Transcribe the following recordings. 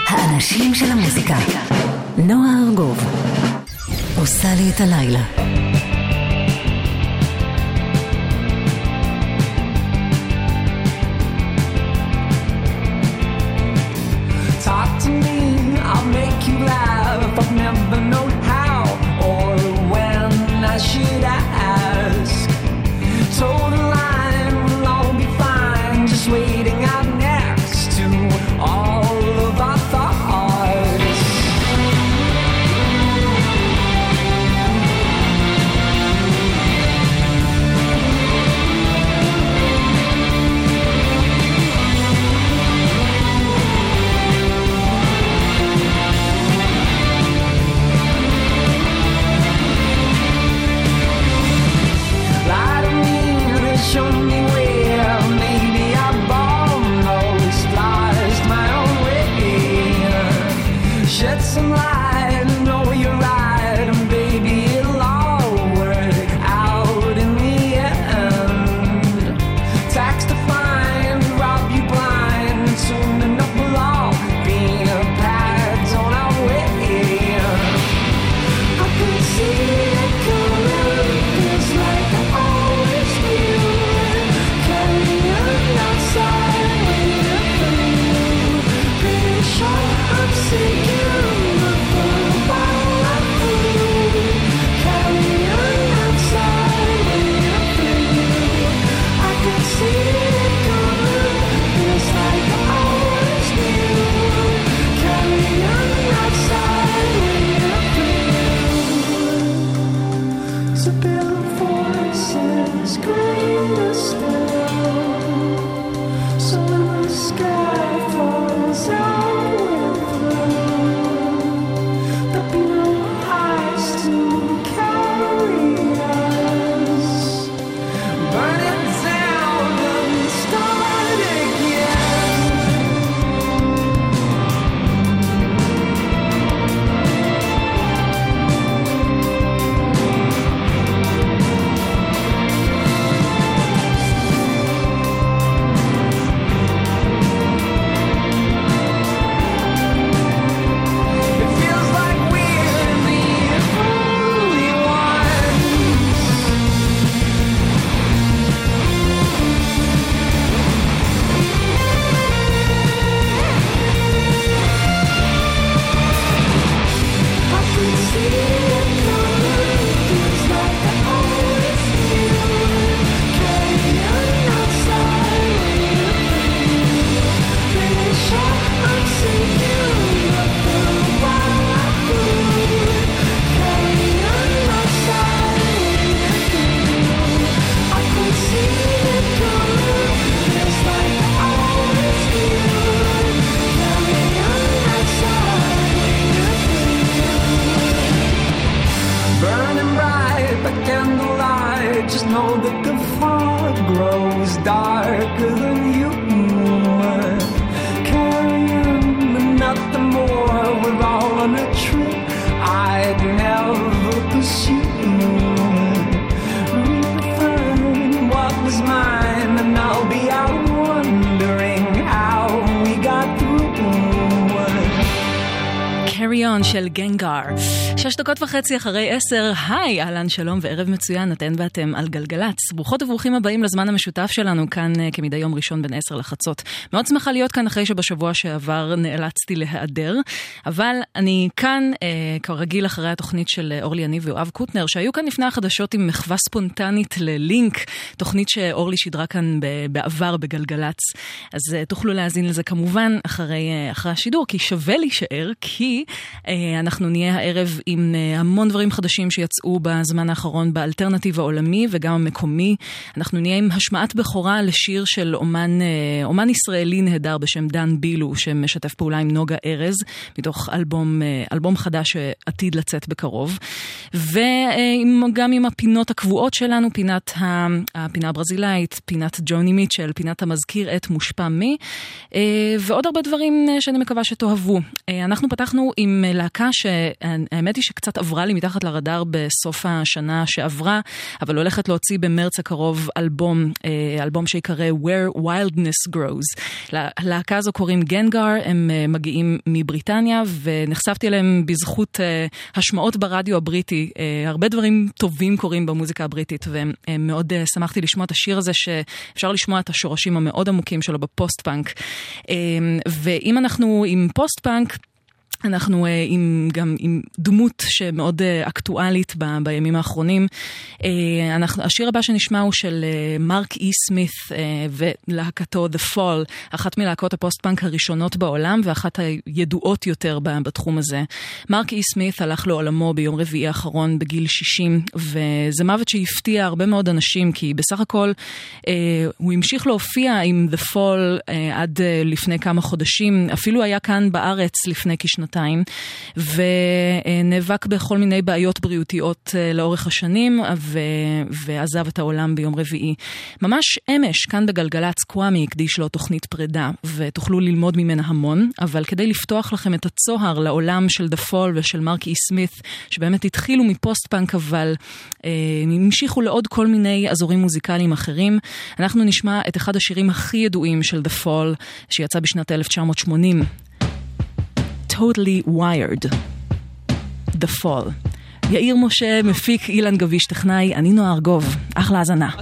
האנשים של המוזיקה. נועה ארגוב עושה לי את הלילה. Talk to me, I'll make you laugh. I've never known how or when I should ask. Told a line, we'll all be fine. Just waiting out next to all of our thoughts. Show me where, maybe I've almost lost my own way. Shed some light, know you're right, and baby it'll all work out in the end. Tax to find, rob you blind, and soon enough we'll all be pads on our way. I could see it coming, it's like I always knew. I'm sinking while I flew. Carry on outside, waiting for you. I could see it coming, it's like I always knew. Carry on outside, waiting for you. So build voices, greater still. So when the sky falls out, just know that the fog grows darker than you. Carry on, but nothing more. We're all on a trip I'd never pursue. Refine what was mine, and I'll be out wondering how we got through. Carry on של גנגר. 6:30 אחרי 10. היי, אהלן, שלום וערב מצוין, אתן ואתם על גלגלץ. ברוכות וברוכים הבאים לזמן המשותף שלנו כאן כמדי יום ראשון בין 10 לחצות. מאוד שמחה להיות כאן אחרי שבשבוע שעבר נאלצתי להיעדר, אבל אני כאן כרגיל אחרי התוכנית של אורלי יניב ויואב קוטנר, שהיו כאן לפני החדשות עם מחווה ספונטנית ללינק, תוכנית שאורלי שידרה כאן בעבר בגלגלץ. אז תוכלו להאזין לזה כמובן אחרי השידור, כי שווה להישאר, כי אנחנו נהיה הערב עם המון דברים חדשים שיצאו בזמן האחרון באלטרנטיב העולמי וגם המקומי. אנחנו נהיה עם השמעת בכורה לשיר של אומן ישראלי נהדר בשם דן בילו, שמשתף פעולה עם נוגה ארז, מתוך אלבום חדש שעתיד לצאת בקרוב. וגם עם הפינות הקבועות שלנו, הפינה הברזילאית, פינת ג'וני מיטשל, פינת המזכיר את מושפע מי, ועוד הרבה דברים שאני מקווה שתאהבו. אנחנו פתחנו עם עם להקה שהאמת היא שקצת עברה לי מתחת לרדאר בסוף השנה שעברה, אבל הולכת להוציא במרץ הקרוב אלבום שיקרא Where Wildness Grows. להקה הזו קוראים גנגר, הם מגיעים מבריטניה, ונחשפתי אליהם בזכות השמעות ברדיו הבריטי. הרבה דברים טובים קורים במוזיקה הבריטית, ומאוד שמחתי לשמוע את השיר הזה, שאפשר לשמוע את השורשים המאוד עמוקים שלו בפוסט-פאנק. ואם אנחנו עם פוסט-פאנק, אנחנו גם עם דמות שמאוד אקטואלית בימים האחרונים. השיר הבא שנשמע הוא של מרק אי סמית ולהקתו The Fall, אחת מלהקות הפוסט-פאנק הראשונות בעולם ואחת הידועות יותר בתחום הזה. מרק אי סמית הלך לעולמו ביום רביעי האחרון בגיל 60, וזה מוות שהפתיע הרבה מאוד אנשים, כי בסך הכל הוא המשיך להופיע עם The Fall עד לפני כמה חודשים, אפילו היה כאן בארץ לפני כשנתיים, ונאבק בכל מיני בעיות בריאותיות לאורך השנים, ועזב את העולם ביום רביעי. ממש אמש, כאן בגלגלץ, קוואמי הקדיש לו תוכנית פרידה, ותוכלו ללמוד ממנה המון, אבל כדי לפתוח לכם את הצוהר לעולם של The Fall ושל מרק אי סמית, שבאמת התחילו מפוסט-פאנק, אבל המשיכו לעוד כל מיני אזורים מוזיקליים אחרים, אנחנו נשמע את אחד השירים הכי ידועים של The Fall, שיצא בשנת 1980. Totally Wired, The Fall. יאיר משה, מפיק, אילן גביש טכנאי, אני נועה ארגוב. אחלה האזנה.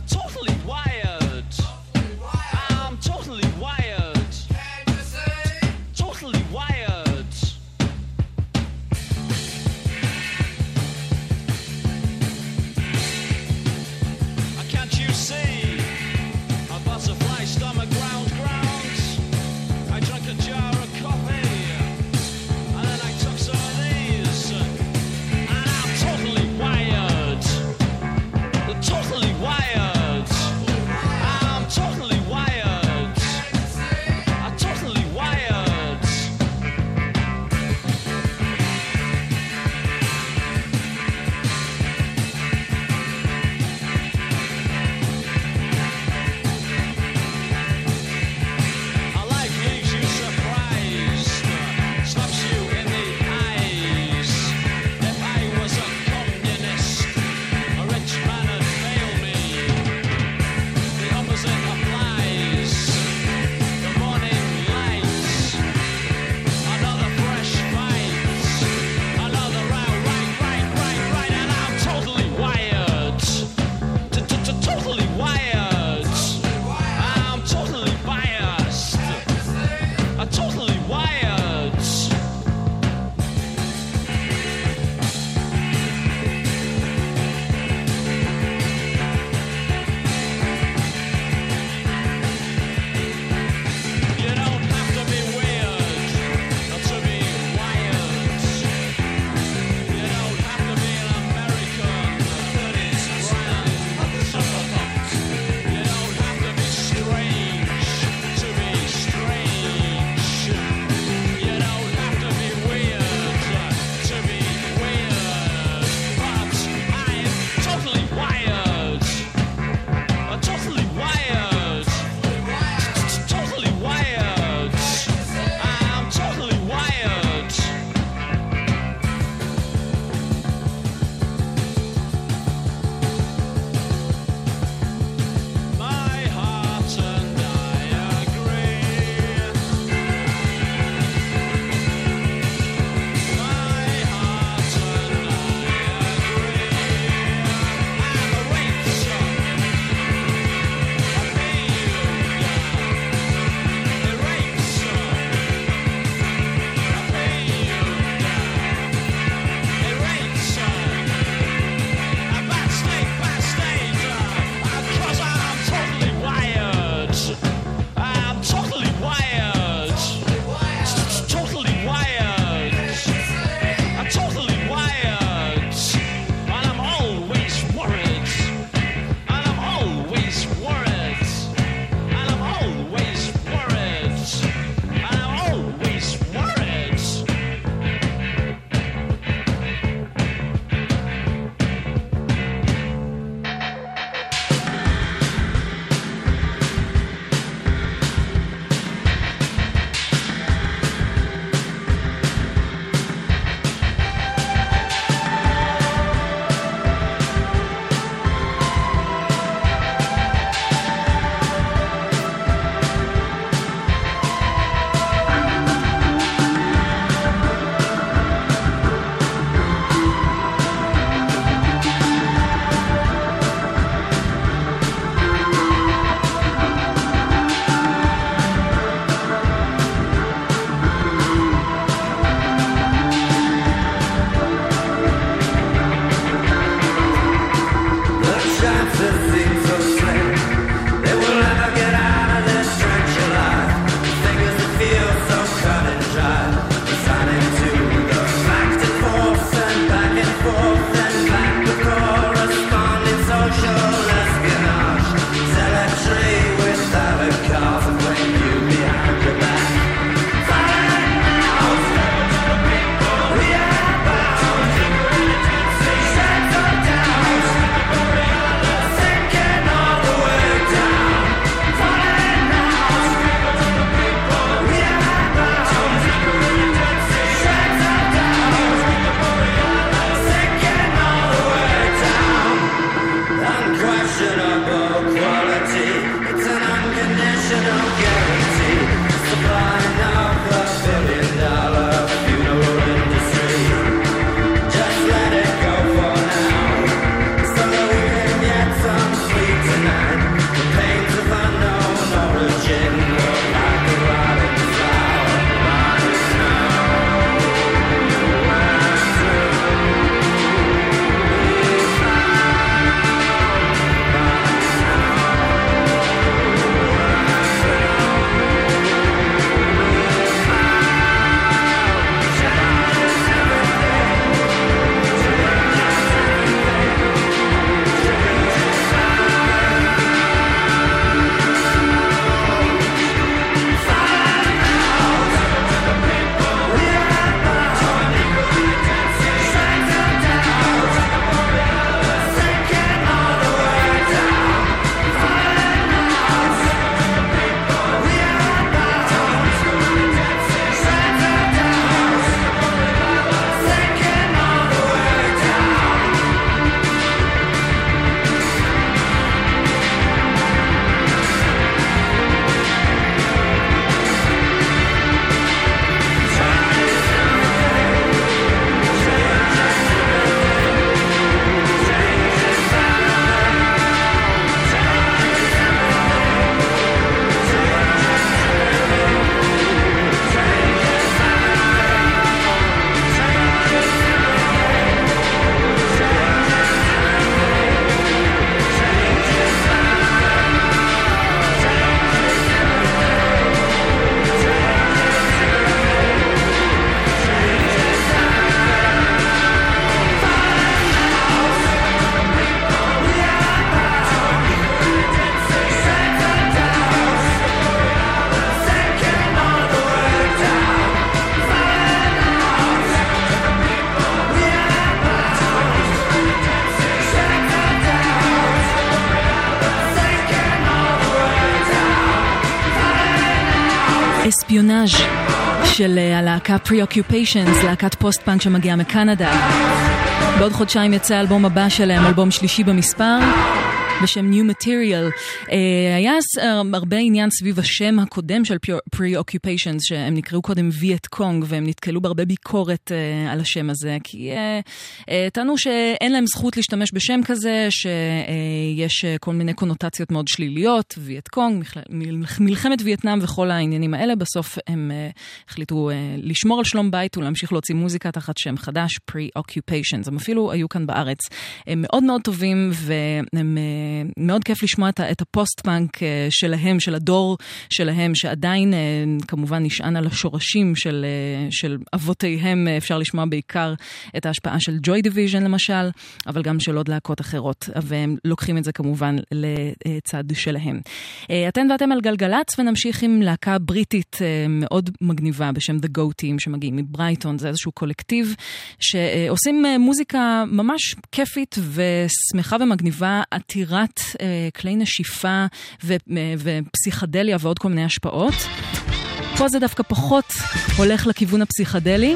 אספיונאז' של הלהקה Preoccupations, להקת פוסט-פאנק שמגיעה מקנדה. בעוד חודשיים יצא האלבום הבא שלהם, אלבום שלישי במספר, בשם New Material. היה הרבה עניין סביב השם הקודם של Preoccupations, שהם נקראו קודם ויאט קונג, והם נתקלו בהרבה ביקורת על השם הזה, כי טענו שאין להם זכות להשתמש בשם כזה, שיש כל מיני קונוטציות מאוד שליליות, ויאט קונג, מלחמת וייטנאם וכל העניינים האלה. בסוף הם החליטו לשמור על שלום בית ולהמשיך להוציא מוזיקה תחת שם חדש, Preoccupations. הם אפילו היו כאן בארץ. הם מאוד מאוד טובים, והם מאוד כיף לשמוע את הפוסט-פאנק שלהם, של הדור שלהם, שעדיין כמובן נשען על השורשים של אבותיהם. אפשר לשמוע בעיקר את ההשפעה של Joy Division למשל, אבל גם של עוד להקות אחרות, והם לוקחים את זה כמובן לצד שלהם. אתן ואתם על גלגלץ, ונמשיך עם להקה בריטית מאוד מגניבה בשם The Go Team, שמגיעים מברייטון. זה איזשהו קולקטיב שעושים מוזיקה ממש כיפית ושמחה ומגניבה, עתירת כלי נשיפה ופסיכדליה ועוד כל מיני השפעות. פה זה דווקא פחות הולך לכיוון הפסיכדלי,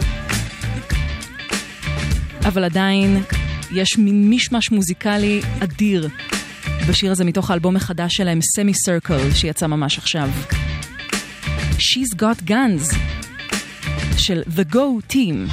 אבל עדיין יש מין משמש מוזיקלי אדיר בשיר הזה מתוך האלבום החדש שלהם, Semi Circle, שיצא ממש עכשיו. She's Got Guns של The Go Team.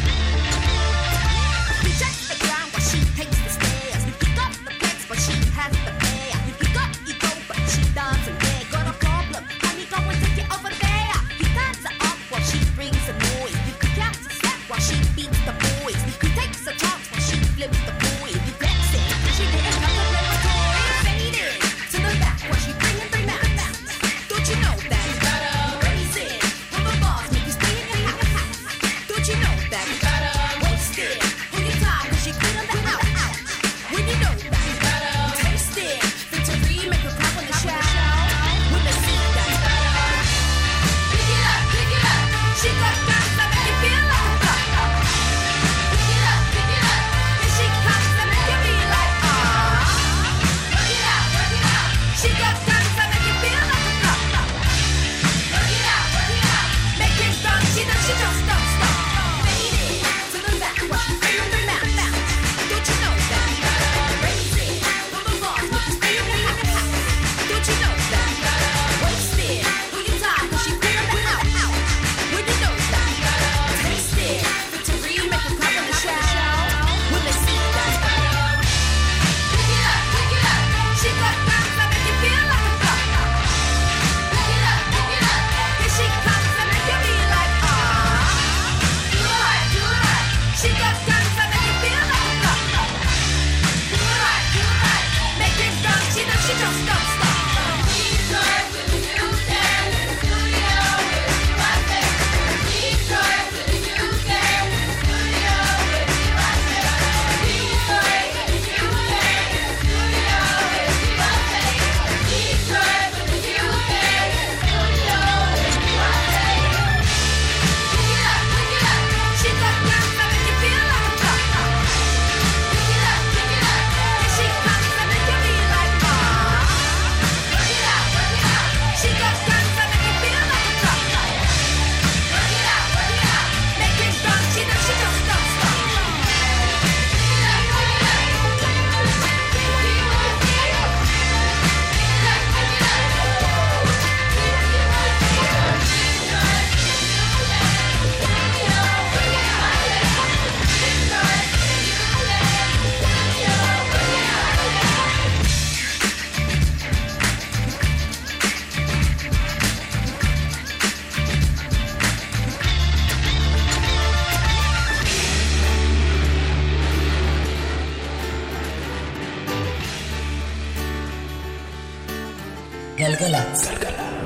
גלגלץ.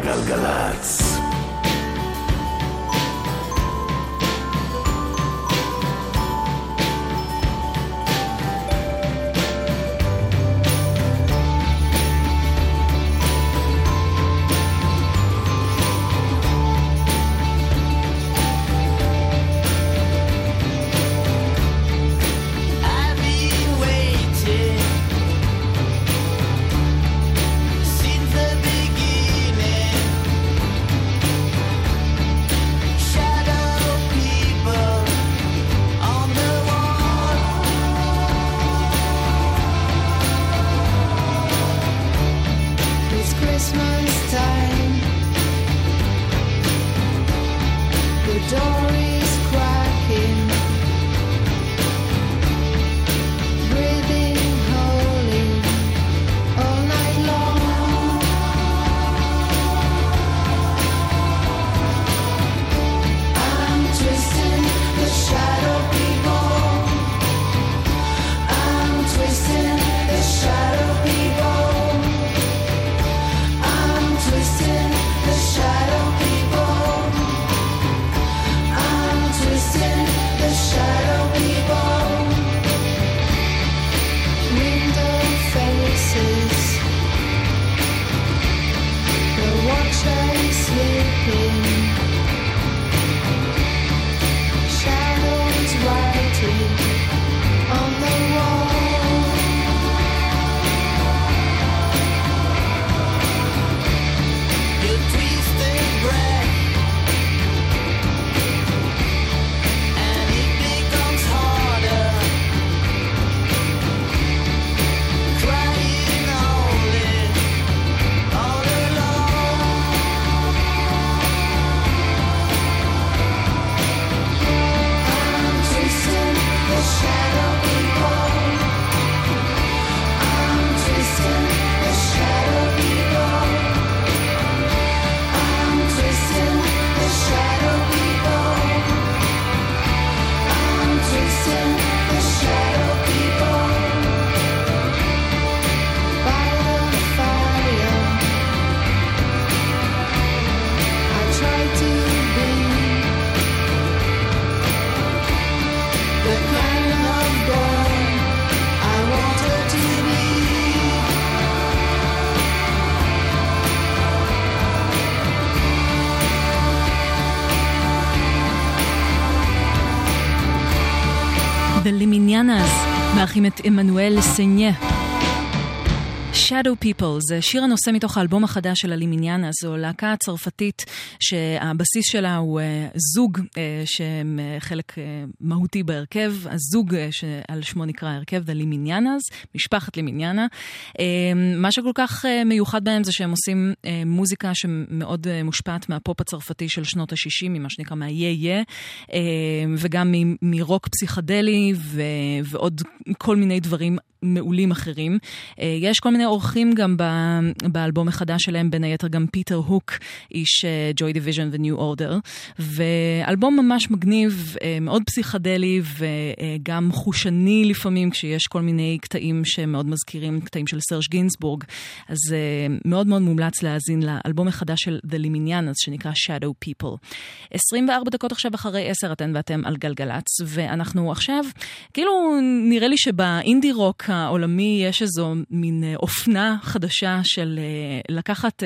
גלגלץ. Since the beginning The Liminianas, מארחים את אמנואל סניה. Shadow People, זה שיר הנושא מתוך האלבום החדש של הלימיניאנה, זו להקה צרפתית שהבסיס שלה הוא זוג שהם חלק מהותי בהרכב, הזוג שעל שמו נקרא הרכב, The Liminianas, משפחת לימיניאנה. מה שכל כך מיוחד בהם זה שהם עושים מוזיקה שמאוד מושפעת מהפופ הצרפתי של שנות ה-60, ממה שנקרא מה-יה-יה, וגם מרוק פסיכדלי ועוד כל מיני דברים מעולים אחרים. יש כל מיני אורחים גם באלבום החדש שלהם, בין היתר גם פיטר הוק, איש Joy Division ו-New Order, ואלבום ממש מגניב, מאוד פסיכדלי וגם חושני לפעמים, כשיש כל מיני קטעים שמאוד מזכירים, קטעים של סרש גינסבורג, אז מאוד מאוד מומלץ להאזין לאלבום החדש של The Liminianas, שנקרא Shadow People. 24 דקות עכשיו אחרי 10 ואתם על גלגלץ, ואנחנו עכשיו, כאילו נראה לי שבאינדי רוק העולמי יש איזו מין אופנה חדשה של לקחת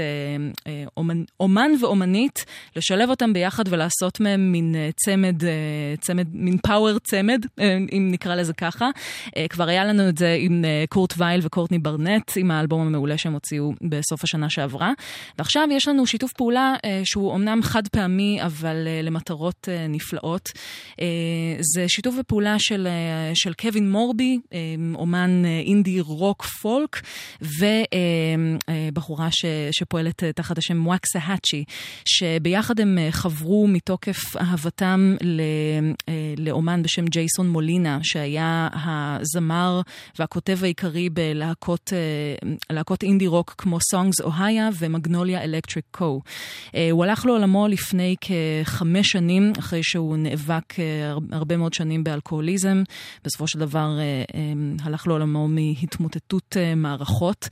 אומן ואומנית, לשלב אותם ביחד ולעשות מהם מין צמד, מין פאוור צמד, אם נקרא לזה ככה. כבר היה לנו את זה עם קורט וייל וקורטני ברנט, עם האלבום המעולה שהם הוציאו בסוף השנה שעברה. ועכשיו יש לנו שיתוף פעולה שהוא אומנם חד פעמי, אבל למטרות נפלאות. זה שיתוף פעולה של קווין מורבי, אומן אינדי רוק פולק, ובחורה שפועלת תחת השם וואקסהאצ'י, שביחד הם חברו מתוקף אהבתם לאומן בשם ג'ייסון מולינה, שהיה הזמר והכותב העיקרי בלהקות אינדי רוק כמו Songs Ohio ומגנוליה אלקטריק קו. הוא הלך לעולמו לפני כ5 שנים, אחרי שהוא נאבק הרבה מאוד שנים באלכוהוליזם. בסופו של דבר הלך לעולמו מהתמוטטות מערכות,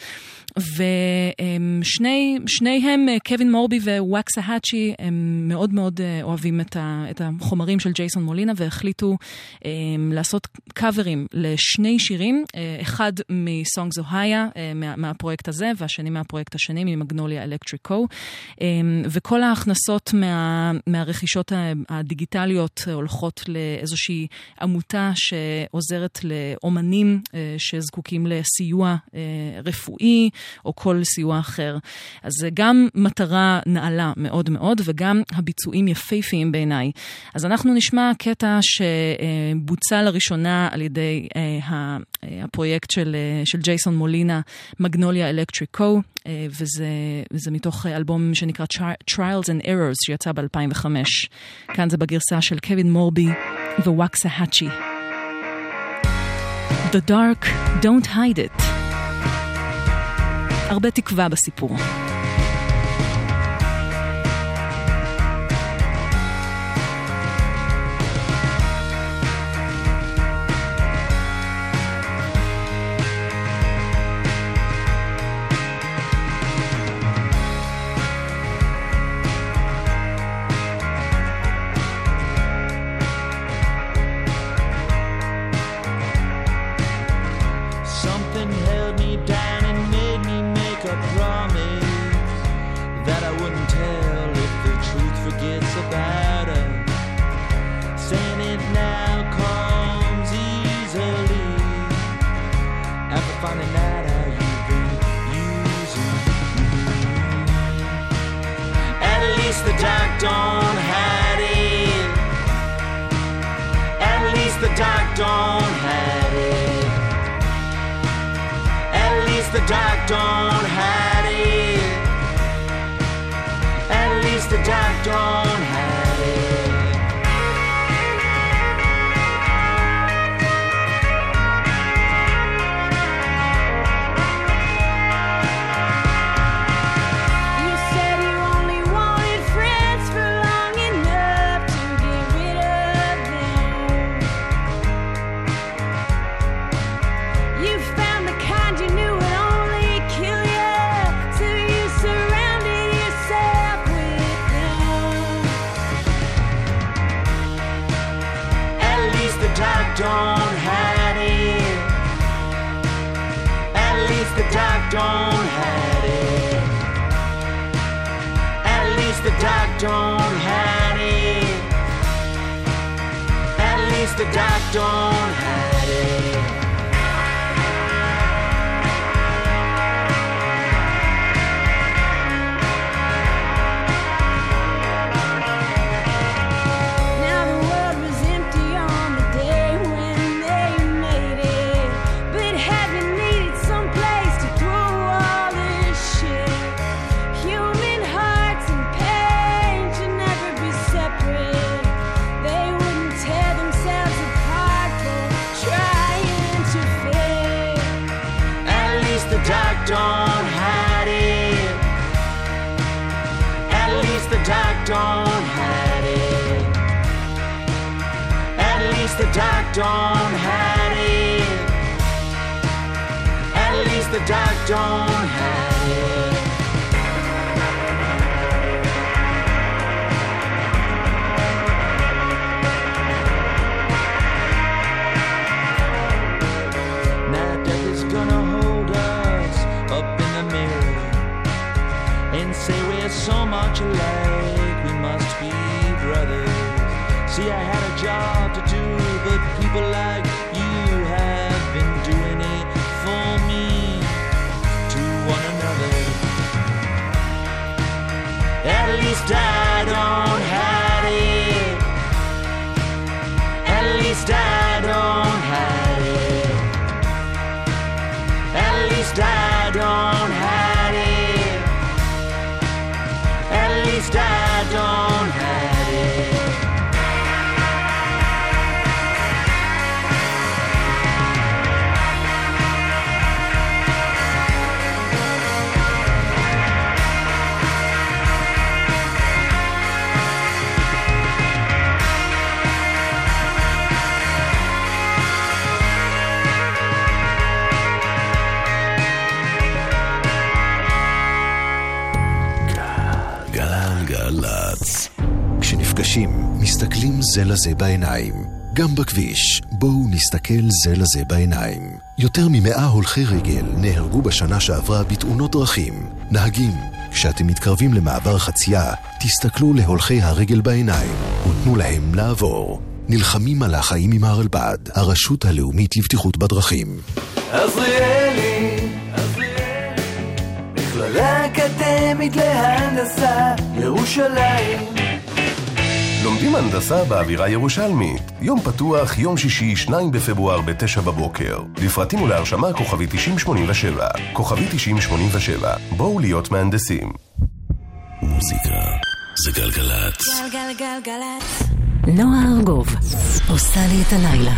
ושניהם, קווין מורבי ווואקסהאצ'י, הם מאוד מאוד אוהבים את החומרים של ג'ייסון מולינה, והחליטו לעשות קאברים לשני שירים, אחד מ-Songs Ohio, מהפרויקט הזה, והשני מהפרויקט השני, ממגנוליה אלקטריק קו, וכל ההכנסות מהרכישות הדיגיטליות הולכות לאיזושהי עמותה שעוזרת לאומנים שזקוקים לסיוע רפואי או כל סיוע אחר. אז זה גם מטרה נעלה מאוד מאוד, וגם הביצועים יפהפיים בעיניי. אז אנחנו נשמע קטע שבוצע לראשונה על ידי הפרויקט של ג'ייסון מולינה, מגנוליה אלקטריק קו, וזה מתוך אלבום שנקרא Trials and Errors, שיצא ב-2005. כאן זה בגרסה של קווין מורבי ווואקסהאצ'י. The dark, don't hide it. הרבה תקווה בסיפור. Don't hide it. At least the dark don't hide it. Don't hide it. At least the dark don't hide it. At least the dark don't hide it. At least the dark don't hide it. Now death is gonna hold us up in the mirror and say we're so much alike, we must be brothers. See, I had a job to do, but people like you have been doing it for me, to one another. At least I don't hide it. At least I don't hide it. At least I don't hide it. At least I don't hide it. גלגלצ. כשנפגשים, מסתכלים זה לזה בעיניים. גם בכביש, בואו נסתכל זה לזה בעיניים. יותר מ100 הולכי רגל נהרגו בשנה שעברה בתאונות דרכים. נהגים, כשאתם מתקרבים למעבר חצייה, תסתכלו להולכי הרגל בעיניים ותנו להם לעבור. נלחמים על החיים עם הרלב"ד, הרשות הלאומית לבטיחות בדרכים. עזריאלי, מכללה אקדמית להנדסה, ירושלים. לומדים הנדסה באווירה ירושלמית. יום פתוח, יום שישי, 2 בפברואר ב-9 בבוקר. לפרטים ולהרשמה כוכבי 9087. כוכבי 9087. בואו להיות מהנדסים. מוזיקה זה גלגלצ. גלגלגלגלצ. נועה ארגוב עושה לי את הלילה.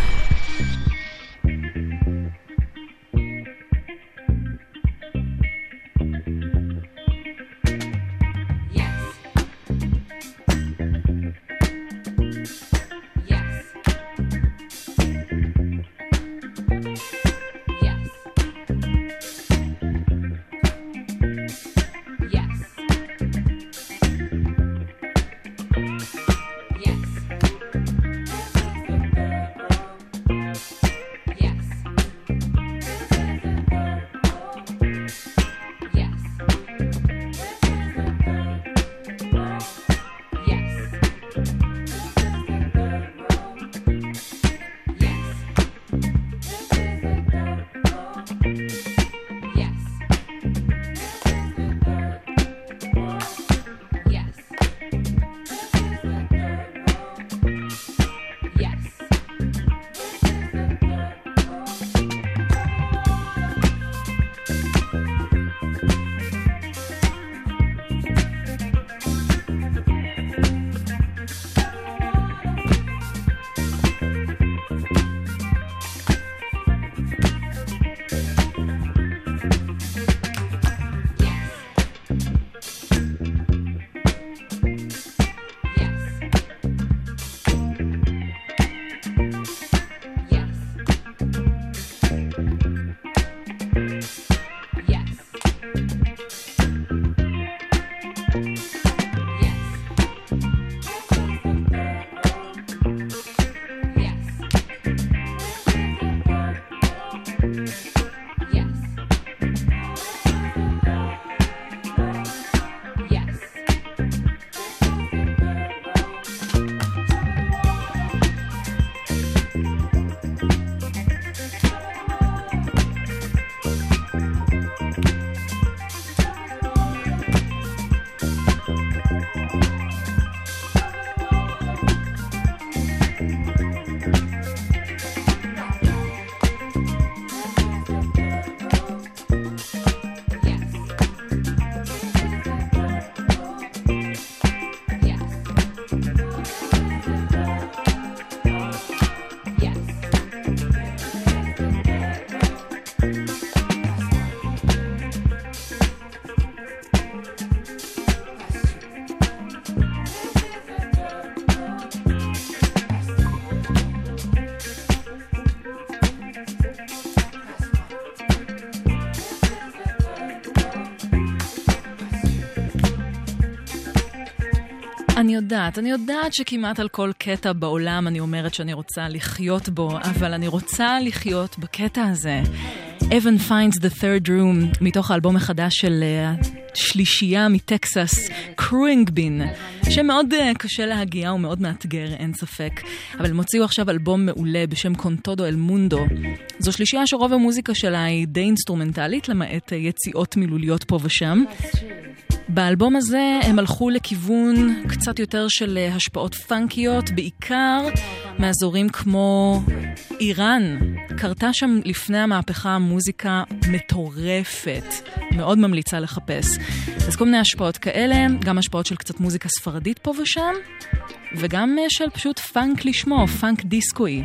אני יודעת שכמעט על כל קטע בעולם אני אומרת שאני רוצה לחיות בו, אבל אני רוצה לחיות בקטע הזה. Evan finds the third room, מתוך האלבום החדש של שלישייה מטקסס, קרואינגבין, שמאוד קשה להגיע ומאוד מאתגר, אין ספק. אבל הם הוציאו עכשיו אלבום מעולה בשם קונטודו אל מונדו. זו שלישייה שרוב המוזיקה שלה היא די אינסטרומנטלית, למעט יציאות מילוליות פה ושם. באלבום הזה הם הלכו לכיוון קצת יותר של השפעות פאנקיות, בעיקר מאזורים כמו איראן. קרתה שם לפני המהפכה מוזיקה מטורפת, מאוד ממליצה לחפש. אז כל מיני השפעות כאלה, גם השפעות של קצת מוזיקה ספרדית פה ושם, וגם של פשוט פאנק לשמו, פאנק דיסקוי.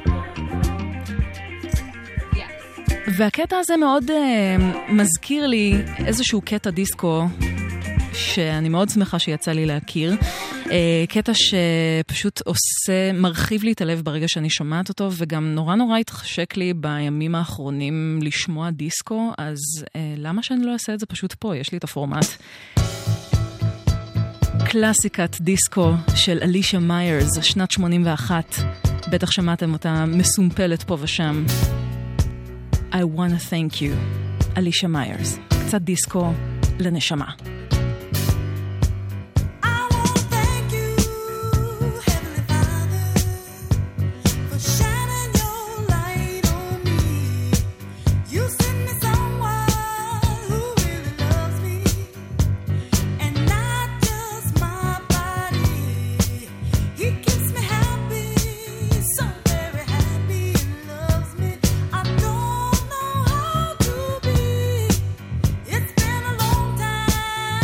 והקטע הזה מאוד מזכיר לי איזשהו קטע דיסקו שאני מאוד שמחה שיצא לי להכיר. קטע שפשוט מרחיב לי את הלב ברגע שאני שומעת אותו, וגם נורא התחשק לי בימים האחרונים לשמוע דיסקו, אז למה שאני לא אעשה את זה פשוט פה? יש לי את הפורמט. קלאסיקת דיסקו של אלישה מיירס, שנת 81. בטח שמעתם אותה מסומפלת פה ושם. I wanna thank you, אלישה מיירס. קצת דיסקו לנשמה. It's been a long time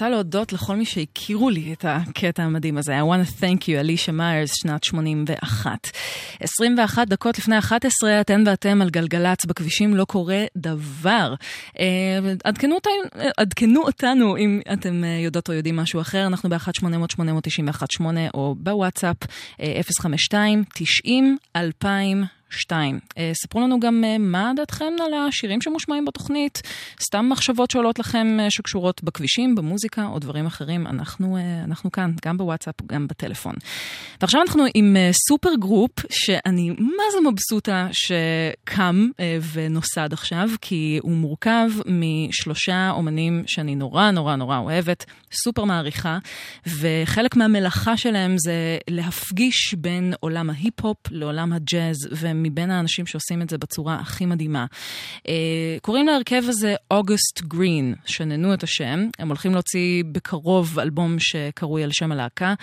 רוצה להודות לכל מי שהכירו לי את הקטע המדהים הזה. I want to thank you, אלישה מיירס, שנת 81. 21 דקות לפני 11, אתן ואתם על גלגלץ, בכבישים לא קורה דבר. עדכנו אותנו אם אתם יודעות או יודעים משהו אחר. אנחנו ב-1-800-891-8 או בוואטסאפ 052-90-2002. ספרו לנו גם מה דעתכם על השירים שמושמעים בתוכנית, סתם מחשבות שעולות לכם שקשורות בכבישים, במוזיקה או דברים אחרים. אנחנו כאן, גם בוואטסאפ, גם בטלפון. ועכשיו אנחנו עם סופר גרופ, שאני מה זה מבסוטה שקם ונוסד עכשיו, כי הוא מורכב משלושה אומנים שאני נורא נורא נורא אוהבת, סופר מעריכה, וחלק מהמלאכה שלהם זה להפגיש בין עולם ההיפ-הופ לעולם הג'אז, ומבין האנשים שעושים את זה בצורה הכי מדהימה. קוראים להרכב הזה אוגוסט גרין, שננו את השם. הם הולכים להוציא בקרוב אלבום שקרוי על שם הלהקה.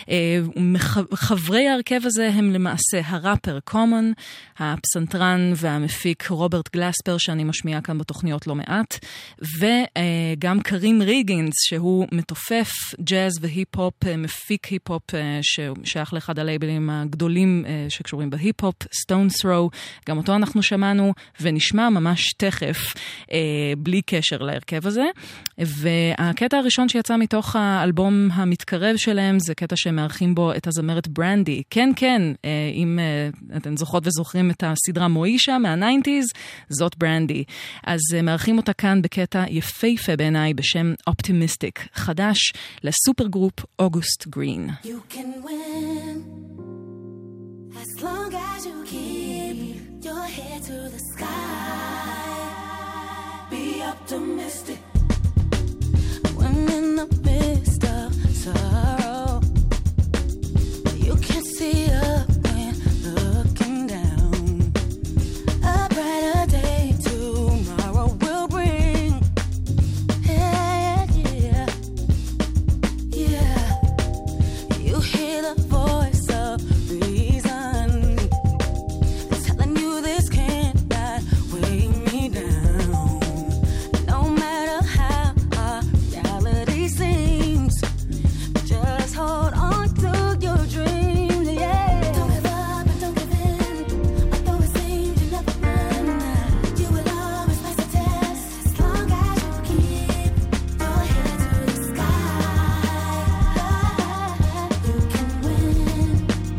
חברי ההרכב הזה הם למעשה הראפר קומון, הפסנתרן והמפיק רוברט גלספר, שאני משמיעה כאן בתוכניות לא מעט, וגם קרים ריגינס, שהוא מתופף ג'אז והיפ-הופ, מפיק היפ-הופ ששייך לאחד הלייבלים הגדולים שקשורים בהיפ-הופ, סטון ת'רו, גם אותו אנחנו שמענו ונשמע ממש תכף, בלי קשר להרכב הזה. והקטע הראשון שיצא מתוך האלבום המתקרב שלהם, זה קטע שמארחים בו את הזמרת ברנדי. כן, כן, אם אתן זוכרות וזוכרים את הסדרה מוישה מה-90s, זאת ברנדי. אז מארחים אותה כאן בקטע יפהפה בעיניי בשם אופטימיסטיק, חדש לסופר גרופ אוגוסט גרין. You can win as long as you keep your head to the sky. Be optimistic when in the midst of sorrow. You can see up when looking down. A brighter day tomorrow will bring. Yeah, yeah, yeah. You hear the voice of reason telling you this cannot weigh me down. No matter how our reality seems, just hold on to your dreams, yeah. Don't give up and don't give in, although it seems you never win. You will always face the test as long as you keep your head to the sky. You can win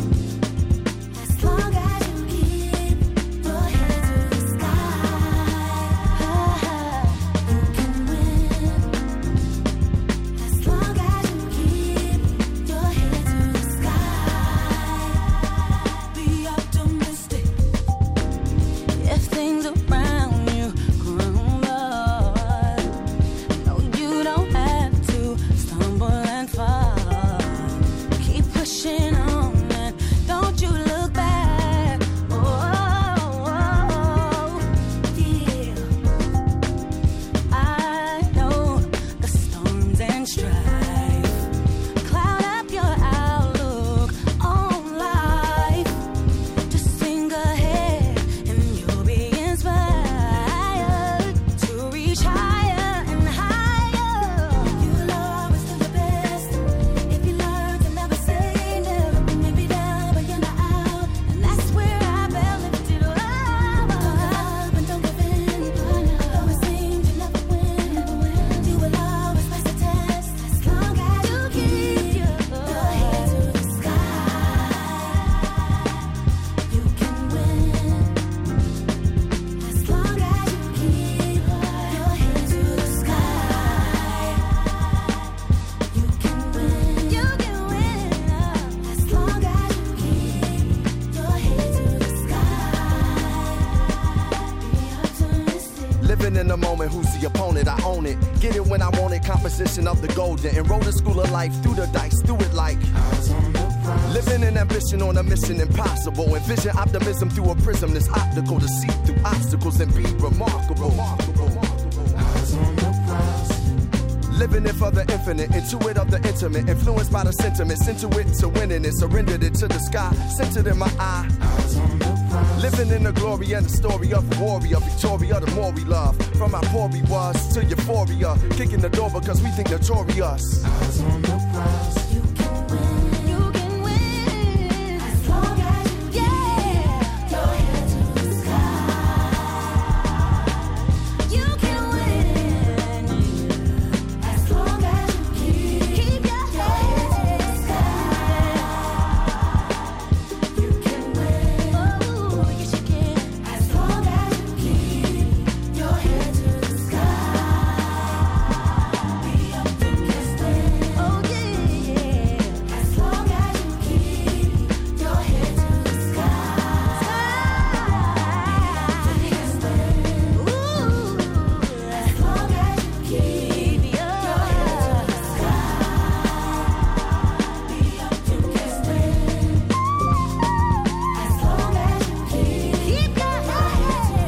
as long as you keep your head to the sky. You can win as long as you keep your head to the sky. Be optimistic if things around you crumble. No, you don't have to stumble and fall. Keep pushing on and don't you look back. Oh, yeah. I know the storms and strife cloud up your outlook on life. Just sing ahead and you'll be inspired to reach higher and higher. You'll always do the best if you learn to never say never. You may be down but you're not out, and that's where I felt lifted up. Don't give up and don't give in, though it seems you never win. You will always face the test as long as you keep your head to the sky. You can win as long as you keep your head to the sky. You can win as long as you keep your head to the sky. Be optimistic. Living in the moment, who's the opponent? I own it. Get it when I want it, composition of the golden. Enroll the school of life, through the dice, do it like living in ambition on a mission impossible. Envision optimism through a prism that's optical to see through obstacles and be remarkable. Living it for the infinite, intuit of the intimate, influenced by the sentiment, sent to it to winning it, surrendered it to the sky, centered in my eye. Living in the glory and the story of a warrior. Victoria, the more we love. From our poor we was to euphoria. Kicking the door because we think notorious. Eyes on the prize. You can win. You can win. As long as you keep your head to the sky. You can win. As long as you keep your head to the sky. You can win. Oh, yes you can. As long as you keep your head to the sky. Be optimistic. Oh yeah. As long as you keep your head to the sky. Ooh. As long as you keep your head to the sky. Be optimistic. As long as you keep your head to the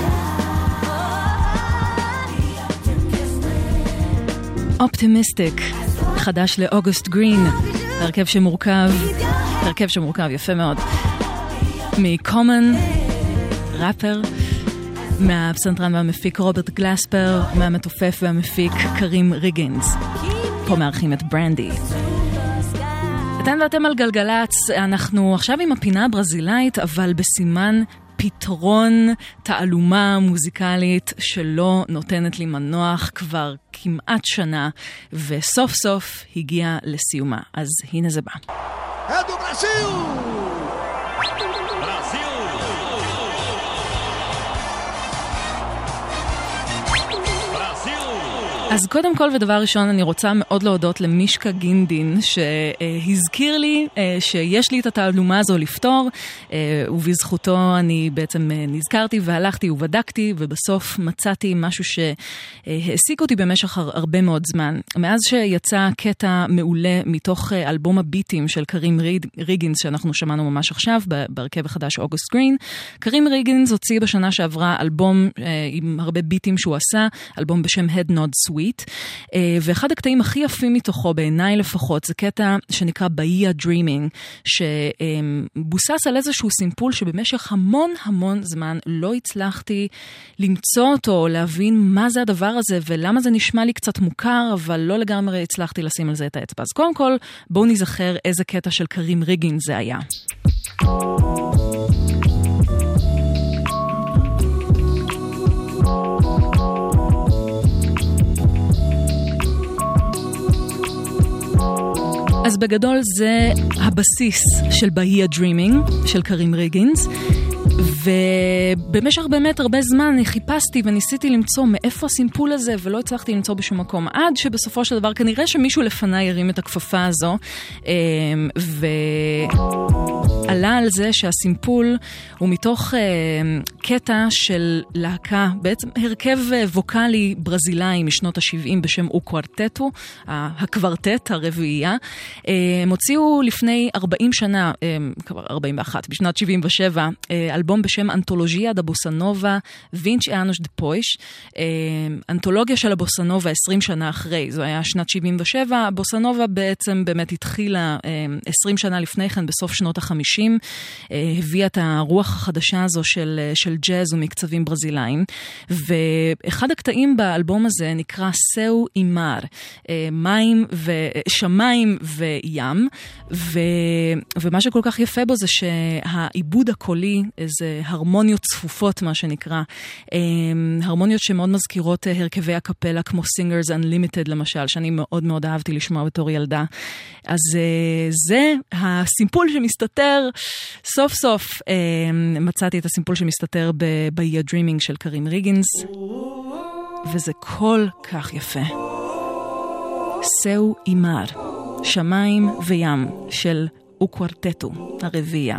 sky. אופטימיסטיק, חדש לאוגוסט גרין, הרכב שמורכב יפה מאוד מקומן, ראפר, מהפסנתרן והמפיק רוברט גלספר, מהמתופף והמפיק קרים ריגינס. פה מארחים את ברנדי. אתן ואתם על גלגלץ, אנחנו עכשיו עם הפינה הברזילאית, אבל בסימן פתרון תעלומה מוזיקלית שלא נותנת לי מנוח כבר כמעט שנה, וסוף סוף הגיע לסיומה. אז הנה זה בא. אז קודם כל ודבר ראשון אני רוצה מאוד להודות למישקה גינדין שהזכיר לי שיש לי את התעלומה הזו לפתור, ובזכותו אני בעצם נזכרתי והלכתי ובדקתי ובסוף מצאתי משהו שהעסיק אותי במשך הרבה מאוד זמן. מאז שיצא קטע מעולה מתוך אלבום הביטים של קרים ריגינס שאנחנו שמענו ממש עכשיו בהרכב החדש אוגוסט גרין, קרים ריגינס הוציא בשנה שעברה אלבום עם הרבה ביטים שהוא עשה, אלבום בשם Head Nod Sweet, ואחד הקטעים הכי יפים מתוכו בעיניי לפחות זה קטע שנקרא Bahia Dreaming, שבוסס על איזשהו סימפול שבמשך המון זמן לא הצלחתי למצוא אותו או להבין מה זה הדבר הזה ולמה זה נשמע לי קצת מוכר, אבל לא לגמרי הצלחתי לשים על זה את האצבע. אז קודם כל בואו נזכר איזה קטע של קרים ריגין זה היה. אז בגדול זה הבסיס של Bahia Dreaming של קרים ריגינס, ובמשך באמת הרבה זמן אני חיפשתי וניסיתי למצוא מאיפה הסימפול הזה ולא הצלחתי למצוא בשום מקום, עד שבסופו של דבר כנראה שמישהו לפניי הרים את הכפפה הזו ועלה על זה שהסימפול הוא מתוך קטע של להקה, בעצם הרכב ווקלי ברזילאי משנות ה-70 בשם אוקוורטטו, הקוורטט, הרביעייה. הם הוציאו לפני 40 שנה, כבר 41, בשנת 77, אלבום בשם אנתולוגיה דה בוסנובה וינץ' אנוש דה פויש, אנתולוגיה של הבוסנובה 20 שנה אחרי, זו היה שנת 77, הבוסנובה בעצם באמת התחילה 20 שנה לפני כן, בסוף שנות ה-50, הביאה את הרוח החדשה הזו של ג'אז ומקצבים ברזילאים, ואחד הקטעים באלבום הזה נקרא סאו אימר, שמיים וים, ומה שכל כך יפה בו זה שהעיבוד הקולי, איזה הרמוניות צפופות מה שנקרא, הרמוניות שמאוד מזכירות הרכבי הקפלה כמו Singers Unlimited למשל, שאני מאוד מאוד אהבתי לשמוע בתור ילדה. אז זה הסימפול שמסתתר, סוף סוף מצאתי את הסימפול שמסתתר ב-Bahia Dreaming של קרים ריגינס, וזה כל כך יפה. סאו אימר, שמיים וים של אוקוורטטו, הרביעייה.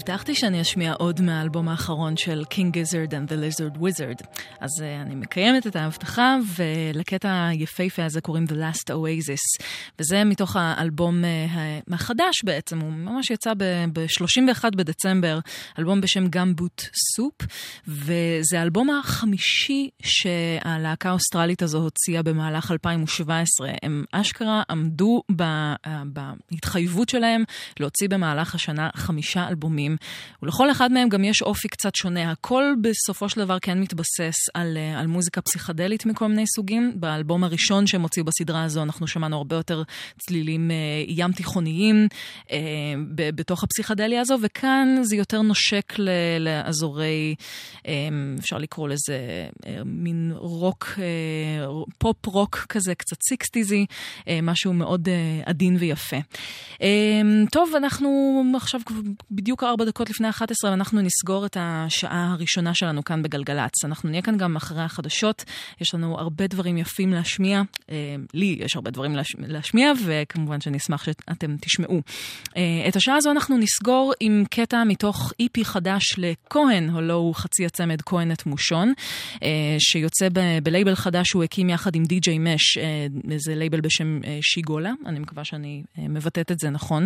הבטחתי שאני אשמיע עוד מהאלבום האחרון של King Gizzard and the Lizard Wizard. אז אני מקיימת את ההבטחה, ולקטע היפהפה הזה קוראים The Last Oasis. וזה מתוך האלבום החדש בעצם, הוא ממש יצא ב-31 בדצמבר, אלבום בשם Gumboot Soup, וזה האלבום החמישי שהלהקה האוסטרלית הזו הוציאה במהלך 2017. הם אשכרה עמדו בהתחייבות שלהם להוציא במהלך השנה 5 אלבומים, ולכל אחד מהם גם יש אופי קצת שונה. הכל בסופו של דבר כן מתבסס על מוזיקה פסיכדלית מכל מיני סוגים. באלבום הראשון שהם הוציאו בסדרה הזו אנחנו שמענו הרבה יותר צלילים ים תיכוניים בתוך הפסיכדליה הזו, וכאן זה יותר נושק לאזורי, אפשר לקרוא לזה מין רוק, פופ רוק כזה, קצת 60s, משהו מאוד עדין ויפה. טוב, אנחנו עכשיו בדיוק 4 דקות לפני 11, ואנחנו נסגור את השעה הראשונה שלנו כאן בגלגלץ. אנחנו נהיה כאן גם אחרי החדשות, יש לנו הרבה דברים יפים להשמיע, לי יש הרבה דברים להשמיע, וכמובן שאני אשמח שאתם תשמעו. את השעה הזו אנחנו נסגור עם קטע מתוך EP חדש לכהן, הלא הוא חצי הצמד כהן את מושון, שיוצא בלייבל חדש שהוא הקים יחד עם DJ מש, זה לייבל בשם שיגולה, אני מקווה שאני מבטאת את זה נכון.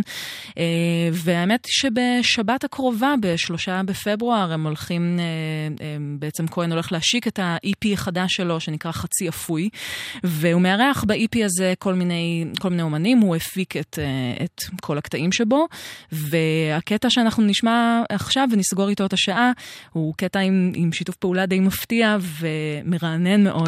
והאמת שבשבת הקרובה, ב3 בפברואר, הם הולכים, בעצם כהן הולך להשיק את ה-EP החדש שלו, שנקרא חצי אפוי, והוא מארח ב-EP הזה כל מיני אומנים, הוא הפיק את כל הקטעים שבו, והקטע שאנחנו נשמע עכשיו ונסגור איתו את השעה, הוא קטע עם שיתוף פעולה די מפתיע ומרענן מאוד,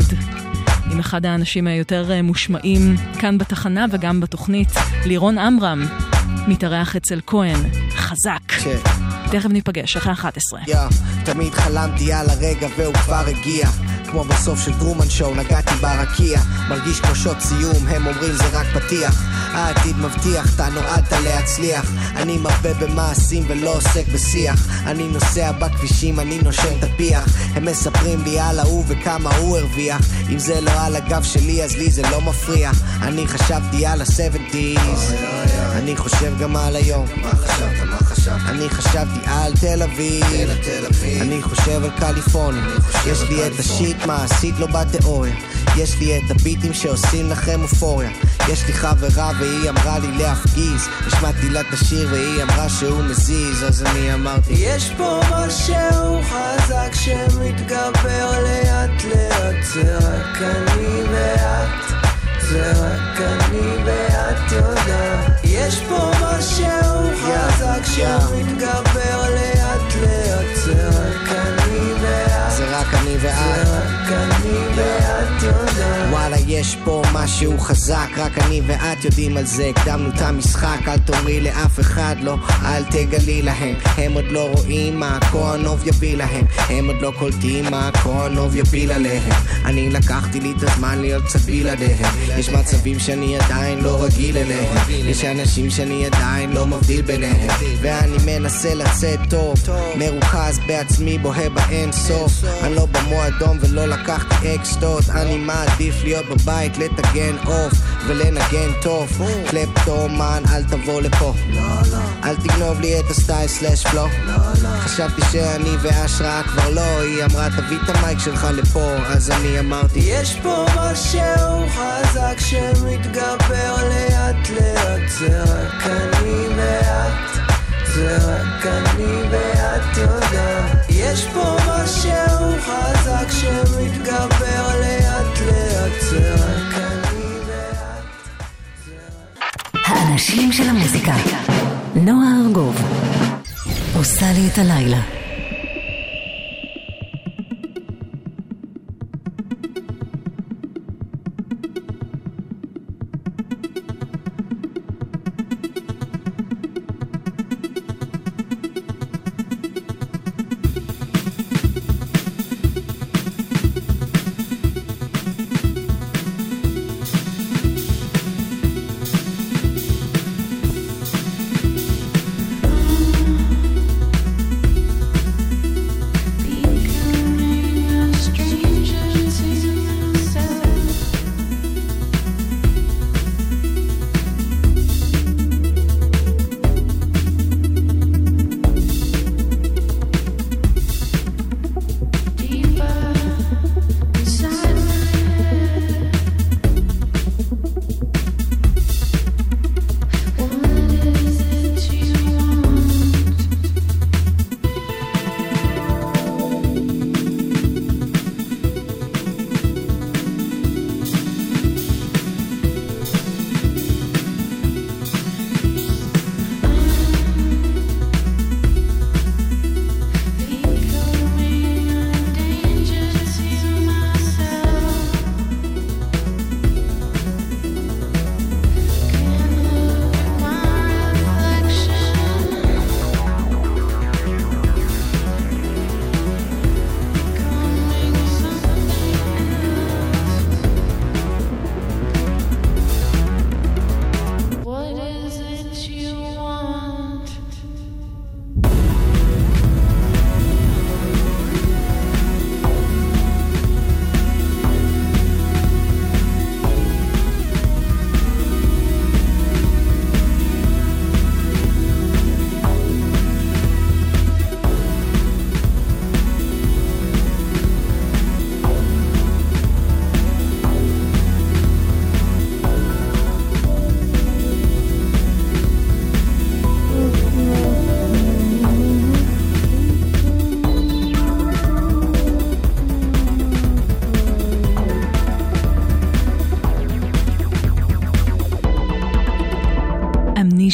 עם אחד האנשים היותר מושמעים כאן בתחנה וגם בתוכנית, לירון אמרם, מתארח אצל כהן, חזק. תכף ניפגש, אחרי 11. תמיד חלמתי על הרגע והוא כבר הגיע, כמו בסוף של טרומן שואו, נגעתי ברקיע, מרגיש כמו שוט סיום, הם אומרים זה רק פתיח, העתיד מבטיח, אתה נועדת להצליח, אני מרבה במעשים ולא עוסק בשיח, אני נוסע בכבישים, אני נושם תפיח, הם מספרים לי על ההוא וכמה הוא הרוויח, אם זה לא על הגב שלי אז לי זה לא מפריע, אני חשבתי על ה-70s, אני חושב גם על היום, מה חשבת? אני חשבתי על תל אביב, אני חושב על קליפורניה, יש לי את השיט מעשית לא בתיאוריה, יש לי את הביטים שעושים לכם אופוריה, יש לי חברה והיא אמרה לי להפגיז, השמעתי לה את השיר והיא אמרה שהוא מזיז, אז אני אמרתי יש פה משהו חזק שמתגבר לאט לאט, זה רק אני ואת, זה רק אני ואת יודעת, יש פה משהו חזק שמתגבר לאט לאט, זה רק אני ואת, זה רק אני ואת, זה רק אני ואת יודעת, וואלה יש פה משהו חזק, רק אני ואת יודעים על זה, הקדמנו את המשחק, אל תאמרי לאף אחד לא, אל תגלי להם, הם עוד לא רואים מה הכהנוב יביא להם, הם עוד לא קולטים מה הכהנוב יפיל עליהם, אני לקחתי לי את הזמן להיות קצת בלעדיהם, יש מצבים שאני עדיין לא רגיל אליהם, יש אנשים שאני עדיין לא מבדיל ביניהם, ואני מנסה לצאת טוב, מרוכז בעצמי בוהה באין סוף, אני לא במועדון ולא לקחתי אקסטות, אני מעדיף להיות בבית לטגן אוף ולנגן טוב, קלפטומן אל תבוא לפה, אל תגנוב לי את הסטייל סלש פלו, חשבתי שאני והשראה כבר לא, היא אמרה תביא את המייק שלך לפה, אז אני אמרתי יש פה משהו חזק שמתגבר לאט לאט, זה רק אני ואת, זה רק אני ואת יודעת, יש פה משהו חזק שמתגבר לאט לאט, זה רק אני ואת, האנשים של המוזיקה, נועה ארגוב עושה לי את הלילה.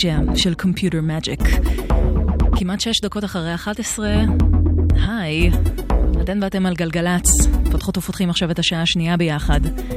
Amnesia של Computer Magic. כמעט 6 דקות אחרי 11. היי, אתן ואתם על גלגלץ. פותחות ופותחים עכשיו את השעה השנייה ביחד.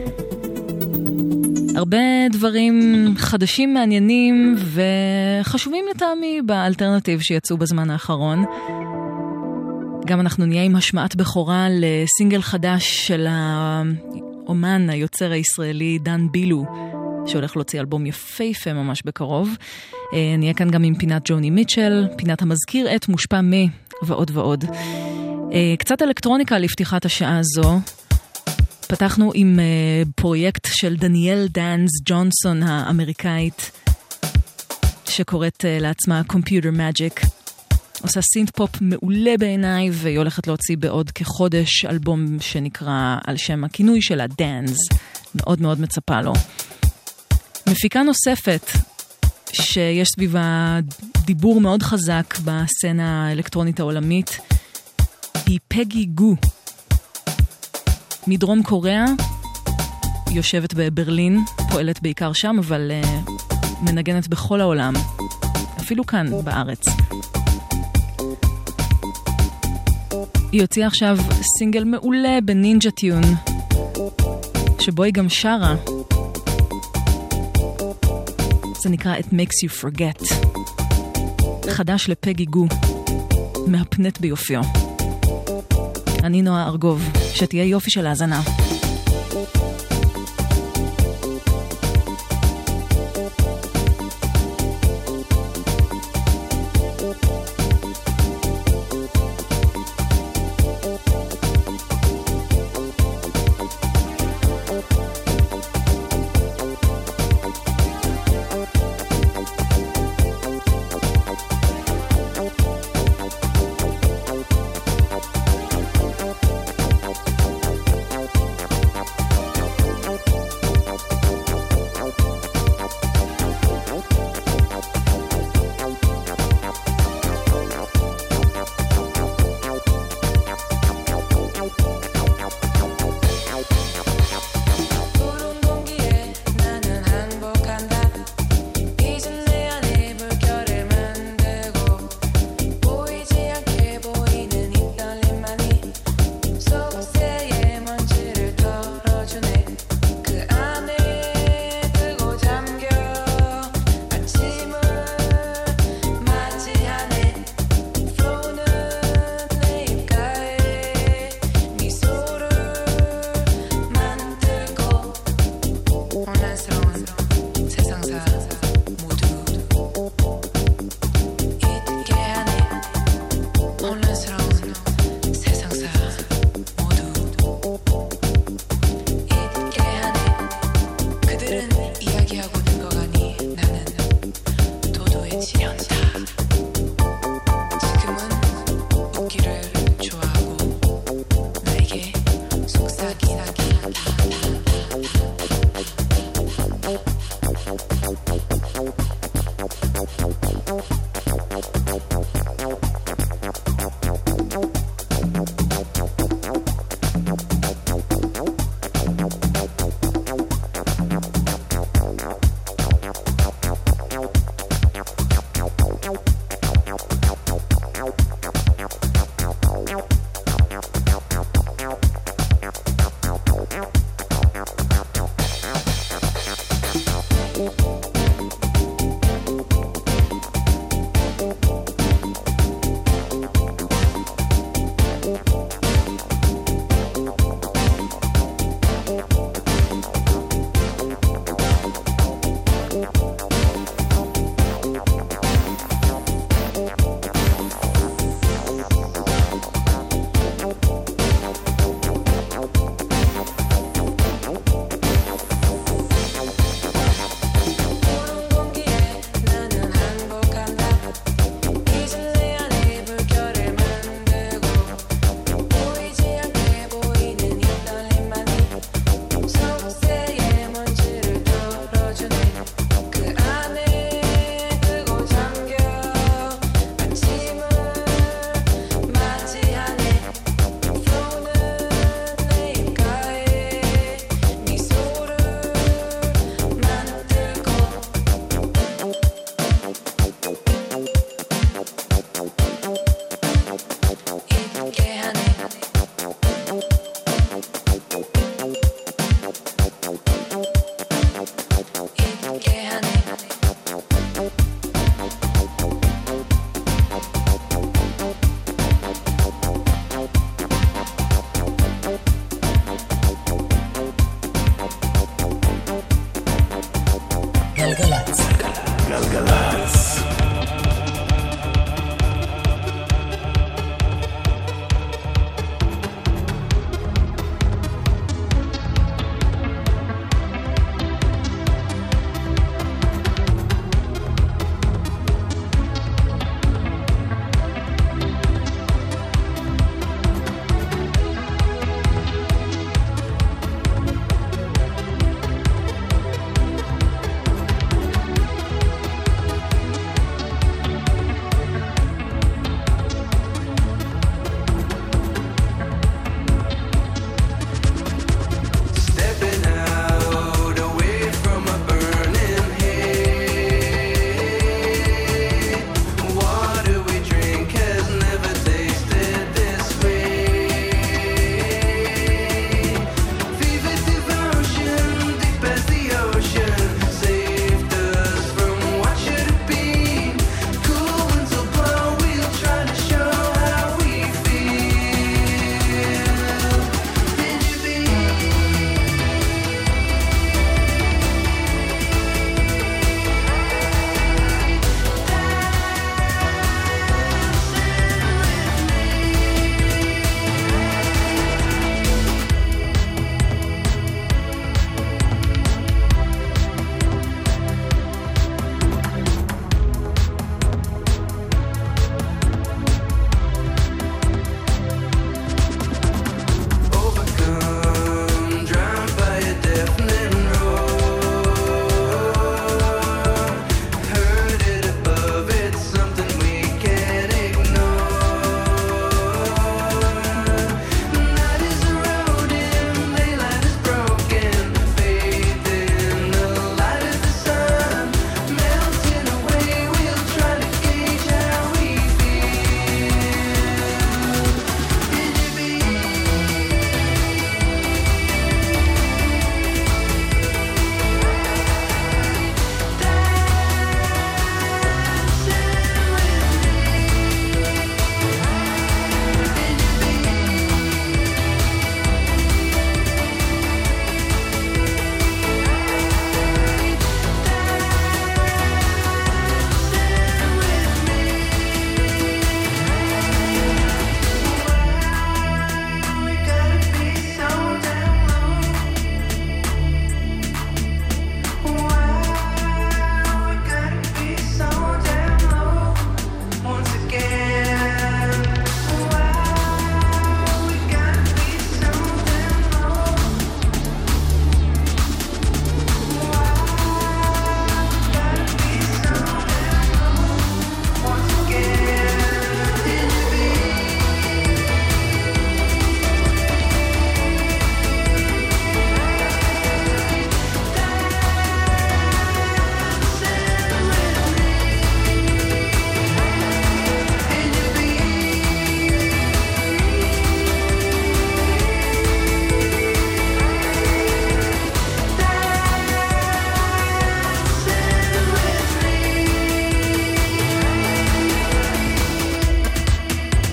הרבה דברים חדשים, מעניינים וחשובים לטעמי באלטרנטיב שיצאו בזמן האחרון. גם אנחנו נהיה עם השמעת בכורה לסינגל חדש של האומן, היוצר הישראלי דן בילו, שהולך להוציא אלבום יפהפה ממש בקרוב. נהיה כאן גם עם פינת ג'וני מיטשל, פינת המזכיר את מושפע מי ועוד ועוד. קצת אלקטרוניקה לפתיחת השעה הזו. פתחנו עם פרויקט של דניאל דאנס ג'ונסון האמריקאית, שקוראת לעצמה Computer Magic. עושה סינט פופ מעולה בעיניי, והיא הולכת להוציא בעוד כחודש אלבום שנקרא על שם הכינוי שלה, דאנס. מאוד מאוד מצפה לו. מפיקה נוספת שיש סביבה דיבור מאוד חזק בסצנה האלקטרונית העולמית היא פגי גו. מדרום קוריאה, יושבת בברלין, פועלת בעיקר שם, אבל מנגנת בכל העולם, אפילו כאן בארץ. היא הוציאה עכשיו סינגל מעולה בנינג'ה טיון, שבו היא גם שרה. זה נקרא It Makes You Forget. חדש לפגי גו, מהפנט ביופיו. אני נועה ארגוב, שתהיה יופי של האזנה.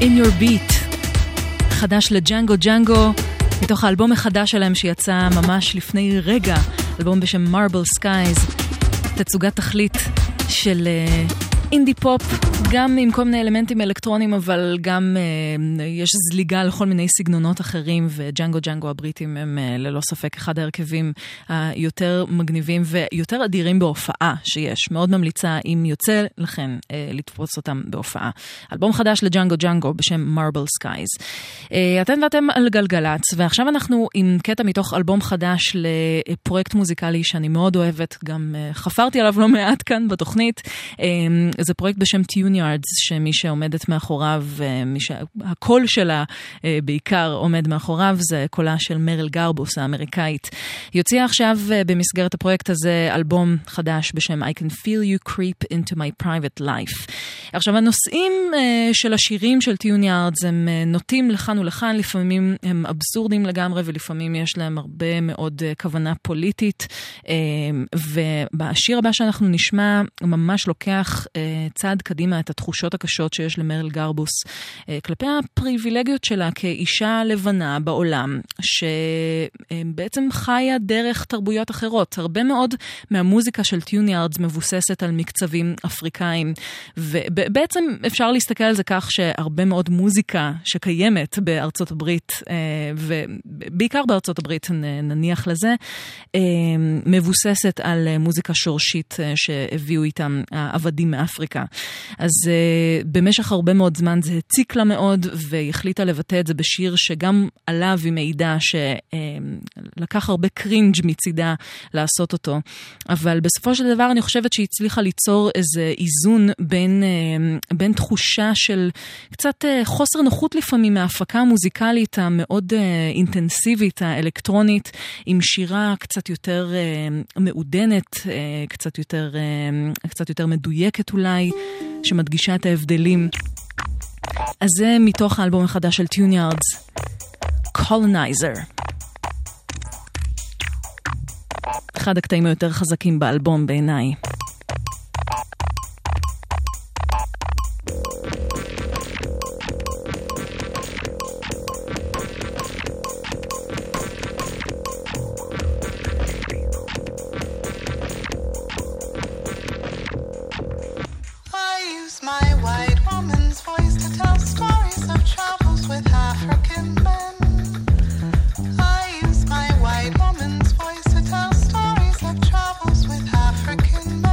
In Your Beat, חדש לג'אנגו ג'אנגו, מתוך האלבום החדש שלהם שיצא ממש לפני רגע, אלבום בשם Marble Skies, תצוגת תכלית של אינדי פופ, גם עם כל מיני אלמנטים אלקטרונים, אבל גם יש זליגה לכל מיני סגנונות אחרים, וג'אנגו ג'אנגו הבריטים הם ללא ספק אחד ההרכבים היותר מגניבים ויותר אדירים בהופעה שיש. מאוד ממליצה אם יוצא לכן לתפוס אותם בהופעה. אלבום חדש לג'אנגו ג'אנגו בשם Marble Skies. אתם על גלגלץ, ועכשיו אנחנו עם קטע מתוך אלבום חדש לפרויקט מוזיקלי שאני מאוד אוהבת, גם חפרתי עליו לא מעט כאן בתוכנית. זה פרויקט בשם Tune Yards, שמי שעומדת מאחוריו, הקול שלה בעיקר עומד מאחוריו, זה קולה של מריל גרבוס האמריקאית. יוציא עכשיו במסגרת הפרויקט הזה אלבום חדש בשם I Can Feel You Creep Into My Private Life. עכשיו, הנושאים של השירים של Tune Yards הם נוטים לכאן ולכאן, לפעמים הם אבסורדים לגמרי, ולפעמים יש להם הרבה מאוד כוונה פוליטית, ובשיר הבא שאנחנו נשמע ממש לוקח צעד קדימה את התחושות הקשות שיש למריל גרבוס כלפי הפריבילגיות שלה כאישה לבנה בעולם, שבעצם חיה דרך תרבויות אחרות. הרבה מאוד מהמוזיקה של Tune Yards מבוססת על מקצבים אפריקאים, ובעצם אפשר להסתכל על זה כך שהרבה מאוד מוזיקה שקיימת בארצות הברית, ובעיקר בארצות הברית נניח לזה, מבוססת על מוזיקה שורשית שהביאו איתם העבדים מאפריקה. אז במשך הרבה מאוד זמן זה הציק לה מאוד, והיא החליטה לבטא את זה בשיר שגם עליו היא מעידה שלקח הרבה קרינג' מצידה לעשות אותו. אבל בסופו של דבר אני חושבת שהיא הצליחה ליצור איזה איזון בין תחושה של קצת חוסר נוחות לפעמים מההפקה המוזיקלית המאוד אינטנסיבית, האלקטרונית, עם שירה קצת יותר מעודנת, קצת יותר מדויקת אולי, שמדגישה את ההבדלים. אז זה מתוך האלבום החדש של Tune Yards, Colonizer. אחד הקטעים היותר חזקים באלבום בעיניי. African men.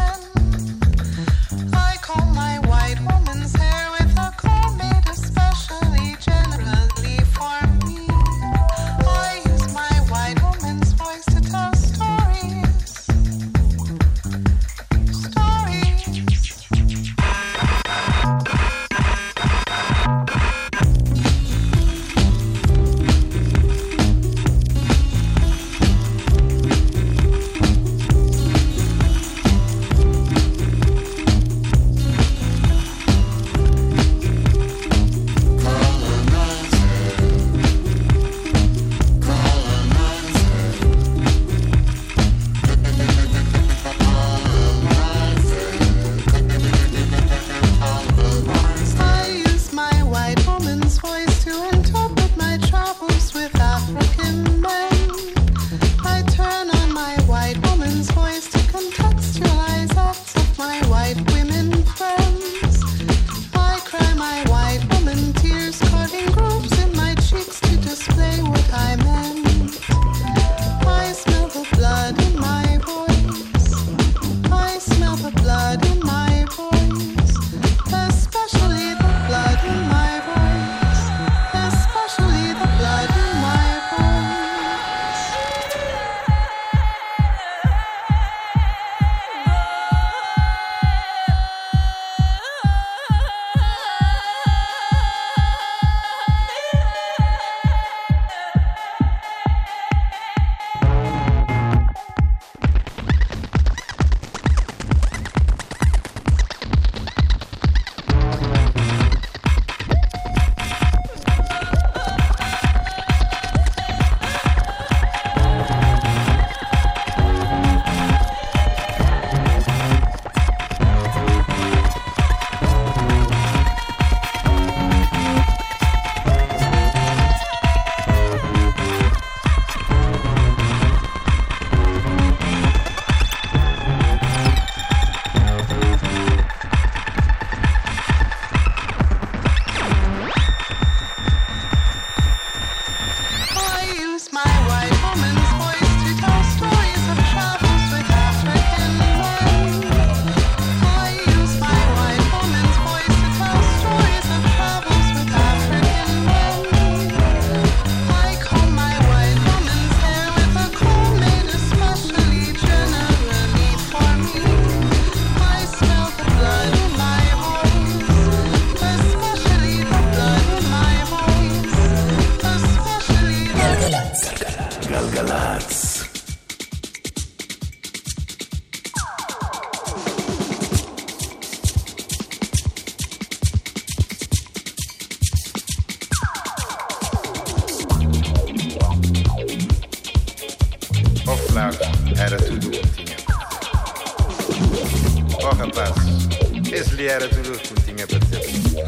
lhe era tudo o que me tinha para dizer.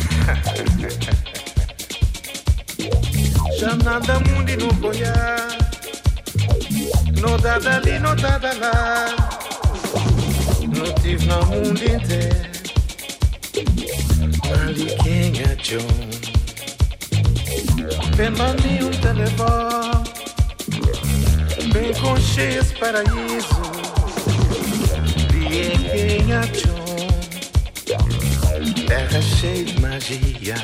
Já nada mundo e não boiar, não dá dali, não dá lá, não tive no mundo inteiro, ali quem é John, vem mami telefone, bem com cheios paraíso, e quem é John, terra cheia de magia.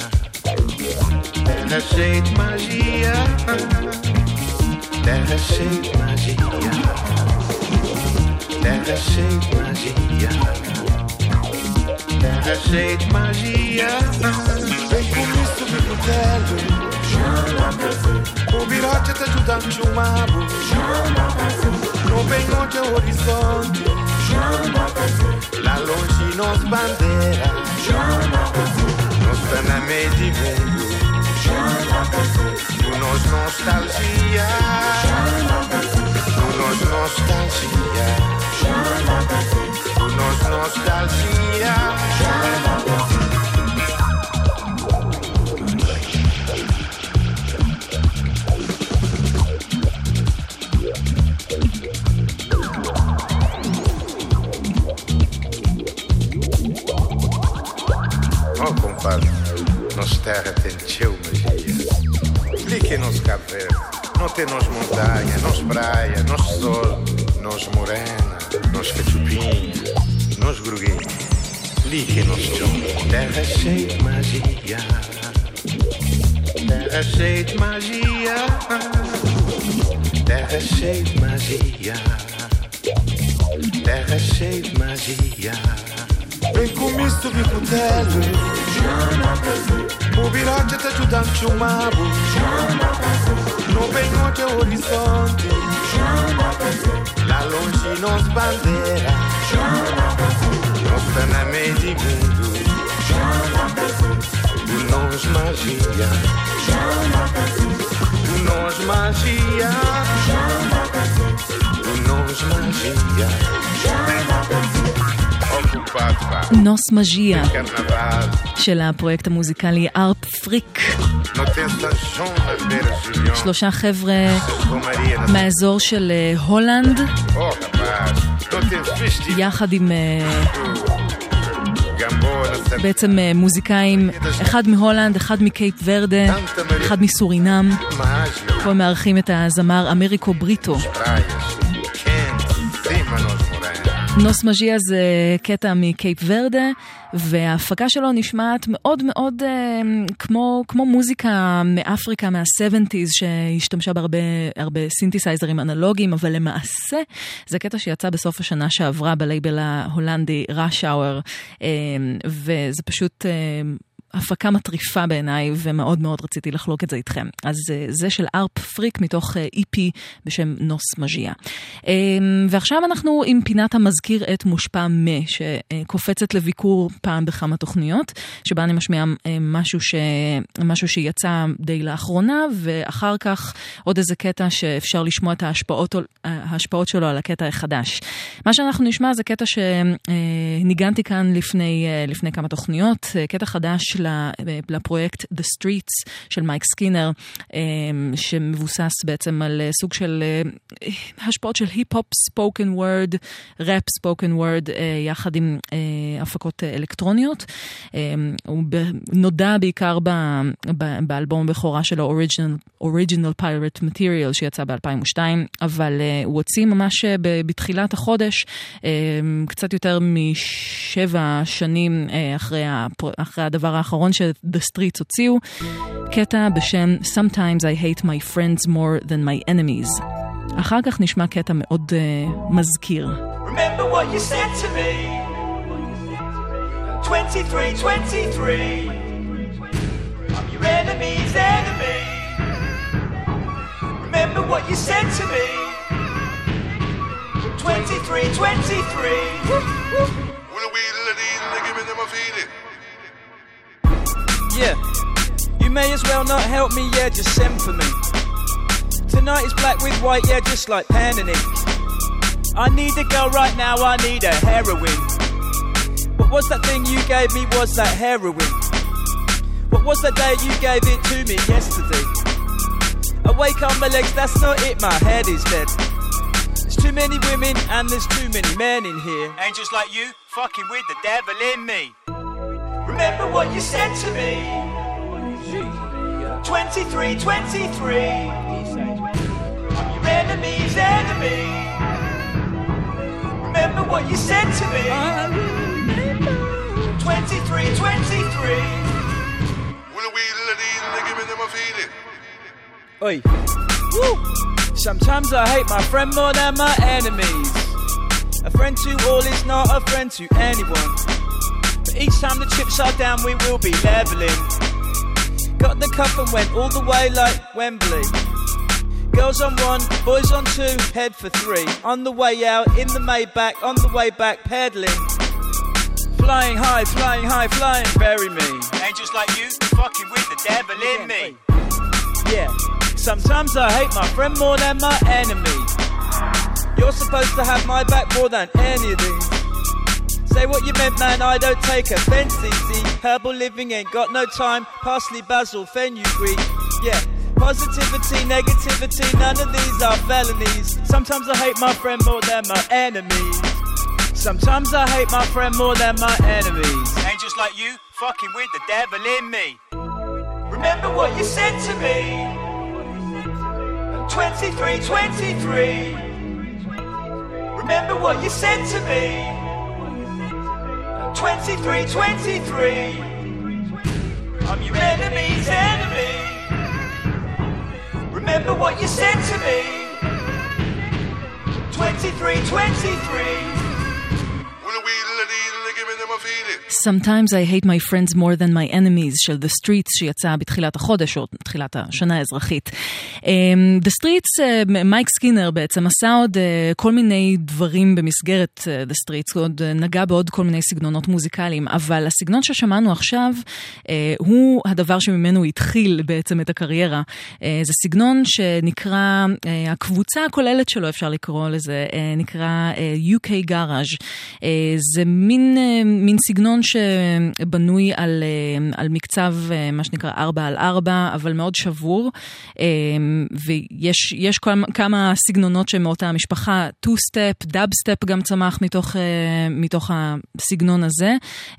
Terra cheia de magia, terra cheia de magia, terra cheia de magia, terra cheia de magia. Vem comigo subir no teto, o birote te ajuda a me chamar. Não vem onde é o horizonte, lá longe nos bandeira, nós está na meio de mundo. Por nós nostalgia, por nós nostalgia, por nós nostalgia. Oh, compadre, nossa terra tem teu magia. Expliquem nos Cabo Verde, não tem nos montanha, nos praia, nos sol, nos morena, nos cachupinha, nos gruguinha. Expliquem nos chão. Terra cheia de magia, terra cheia de magia, terra cheia de magia, terra cheia de magia. Vem comigo subir pro teto, o birote te ajuda a me chamar. Não vem onde é o horizonte, lá longe nos bandeira, nós está na meio de mundo, por nós magia, por nós magia, por nós magia. נוס מג'יה של הפרויקט המוזיקלי ארפ פריק. 3 חבר'ה מהאזור של הולנד, יחד עם בעצם מוזיקאים, אחד מהולנד, אחד מקייפ ורדה, אחד מסורינם. פה מארחים את הזמר אמריקו בריטו. נוס מג'יה זה קטע מקייפ ורדה, וההפקה שלו נשמעת מאוד מאוד כמו מוזיקה מאפריקה, מה-70s, שהשתמשה בהרבה סינתסייזרים אנלוגיים, אבל למעשה זה קטע שיצא בסוף השנה שעברה בלייבל ההולנדי Rush Hour, וזה פשוט הפקה מטריפה בעיניי, ומאוד מאוד רציתי לחלוק את זה איתכם. אז זה של ארפ פריק מתוך EP בשם נוס מג'יה. ועכשיו אנחנו עם פינת המזכיר את מושפע שקופצת לביקור פעם בכמה תוכניות, שבה אני משמיעה משהו שיצא די לאחרונה, ואחר כך עוד איזה קטע שאפשר לשמוע את ההשפעות שלו על הקטע החדש. מה שאנחנו נשמע זה קטע שניגנתי כאן לפני כמה תוכניות, קטע חדש לפרויקט The Streets של מייק סקינר, שמבוסס בעצם על סוג של השפעות של היפ-הופ, ספוקן וורד, ראפ ספוקן וורד, יחד עם הפקות אלקטרוניות. הוא נודע בעיקר באלבום בכורה שלו, Original Pirate Material, שיצא ב-2002, אבל הוא הוציא ממש בתחילת החודש, קצת יותר מ7 שנים אחרי הדבר האחרון ש-The Streets הוציאו, קטע בשם Sometimes I hate my friends more than my enemies. אחר כך נשמע קטע מאוד מזכיר. Remember what you said to me 23, I'm your enemy's enemy. Remember what you said to me 23 Yeah, you may as well not help me, yeah, just send for me. Tonight is black with white, yeah, just like pen and ink. I need a girl right now, I need a heroine. But was that thing you gave me? Was that heroin? What was that day you gave it to me yesterday? Awake on my legs, that's not it, my head is dead. There's too many women and there's too many men in here. Angels like you, fucking with the devil in me. Remember what you said to me. 23, 23. I'm your enemy's enemy. Remember what you said to me. 23, 23. Oi. Woo. Sometimes I hate my friend more than my enemies. A friend to all is not a friend to anyone. But each time the chips are down, we will be leveling. Got the cup and went all the way like Wembley. Girls on one, boys on two, head for three. On the way out, in the Maybach, on the way back, pedaling. Flying high, flying, bury me. Angels like you, fucking with the devil in me. Yeah, sometimes I hate my friend more than my enemy. You're supposed to have my back more than any of these. Say what you meant, man, I don't take offense easy. Herbal living ain't got no time. Parsley, basil, fenugreek. Yeah, positivity, negativity, none of these are felonies. Sometimes I hate my friend more than my enemies. Sometimes I hate my friend more than my enemies. Angels like you, fucking with the devil in me. Remember what you said to me. 23, 23. Remember what you said to me. 23, 23. I'm your enemy's enemy. Remember what you said to me. 23, 23. Sometimes I hate my friends more than my enemies של The Streets שיצא בתחילת החודש או תחילת השנה האזרחית. The Streets, מייק סקינר בעצם עשה עוד כל מיני דברים במסגרת The Streets, עוד נגע בעוד כל מיני סגנונות מוזיקליים, אבל הסגנון ששמענו עכשיו הוא הדבר שממנו התחיל בעצם את הקריירה. זה סגנון שנקרא, הקבוצה הכוללת שלו אפשר לקרוא לזה, נקרא UK Garage. זה מין סגנון שבנוי על מקצב, מה שנקרא 4x4, אבל מאוד שבור, ויש כמה סגנונות שמאותה המשפחה, 2-step, dub-step גם צמח מתוך הסגנון הזה,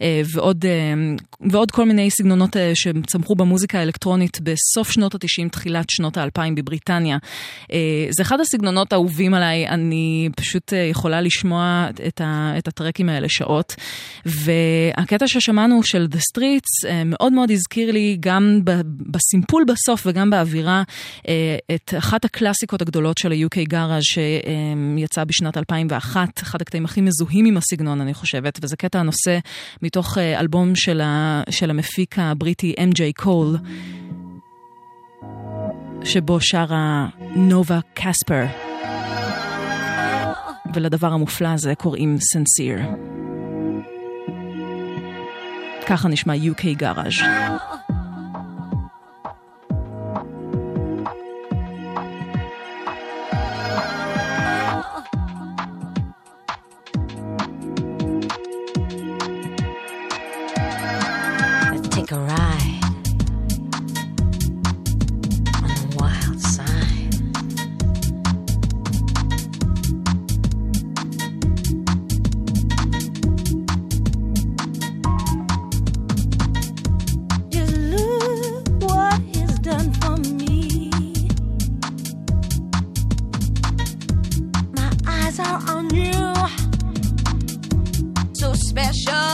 ועוד כל מיני סגנונות שצמחו במוזיקה האלקטרונית בסוף שנות ה-90, תחילת שנות ה-2000 בבריטניה. זה אחד הסגנונות האהובים עליי, אני פשוט יכולה לשמוע את הטרקים האלה שעות, והקטע ששמענו של The Streets מאוד מאוד הזכיר לי גם בסימפול בסוף וגם באווירה את אחת הקלאסיקות הגדולות של ה-UK Garage שיצא בשנת 2001, אחד הקטעים הכי מזוהים עם הסגנון אני חושבת, וזה קטע הנושא מתוך אלבום של המפיק הבריטי MJ Cole, שבו שרה נובה קספר, ולדבר המופלא הזה קוראים Sincere. ככה נשמע UK Garage. Let's take a ride on the wild side. Just look what he's done for me. My eyes are on you, so special.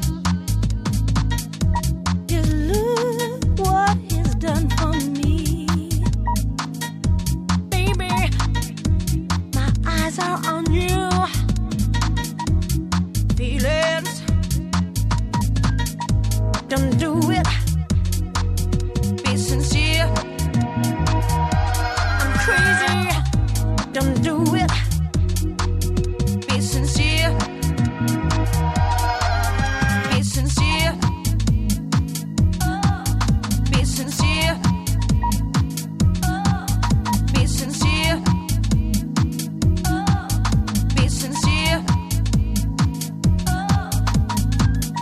Just look what he's done for me. Baby, my eyes are on you. Feelings, don't do it. Be sincere. I'm crazy. Don't do it. Be sincere. Be sincere. Be sincere. Be sincere. Be sincere.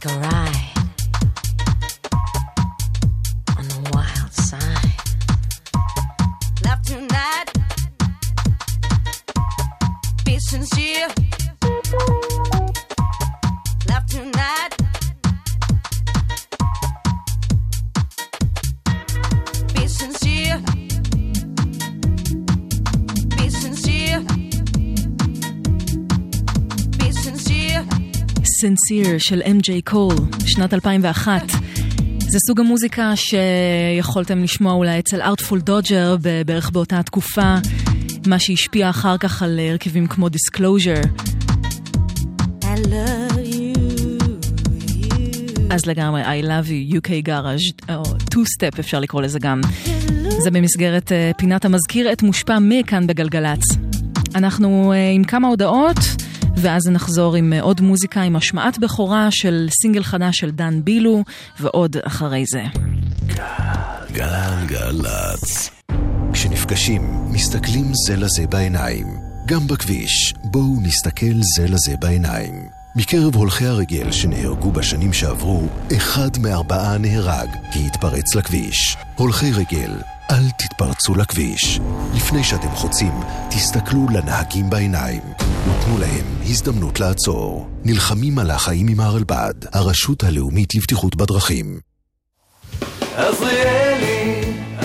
take a ride on the wild side. Love tonight, be sincere. Love tonight, be sincere. Be sincere. Be sincere. Sincere של MJ קול, שנת 2001. זה סוג המוזיקה שיכולתם לשמוע אולי אצל Artful Dodger בערך באותה התקופה, מה שהשפיע אחר כך על הרכבים כמו Disclosure. I love you. אז לגמרי, I love you, UK Garage, או Two-Step אפשר לקרוא לזה גם. זה במסגרת פינת המזכיר את מושפע מכאן בגלגלץ. אנחנו עם כמה הודעות, ואז נחזור עם עוד מוזיקה, עם השמעת בכורה של סינגל חדש של דן בילו, ועוד אחרי זה. גלגלצ. כשנפגשים, מסתכלים זה לזה בעיניים. גם בכביש, בואו נסתכל זה לזה בעיניים. מקרב הולכי הרגל שנהרגו בשנים שעברו, 1 מ4 נהרג כי התפרץ לכביש. הולכי רגל, אל תתפרצו לכביש. לפני שאתם חוצים, תסתכלו לנהגים בעיניים. ותנו להם הזדמנות לעצור. נלחמים על החיים עם הרלב"ד, הרשות הלאומית לבטיחות בדרכים. עזריאלי,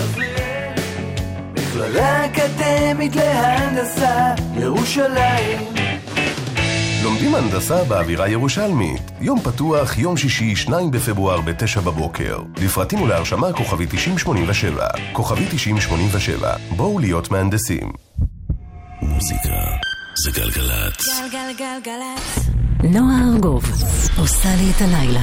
מכללה אקדמית להנדסה, ירושלים. לומדים הנדסה באווירה ירושלמית. יום פתוח, יום שישי, 2 בפברואר ב-9 בבוקר. לפרטים ולהרשמה כוכבי 9087. כוכבי 9087. בואו להיות מהנדסים. מוזיקה זה גלגלצ. גלגלגלגלצ. נועה ארגוב עושה לי את הלילה.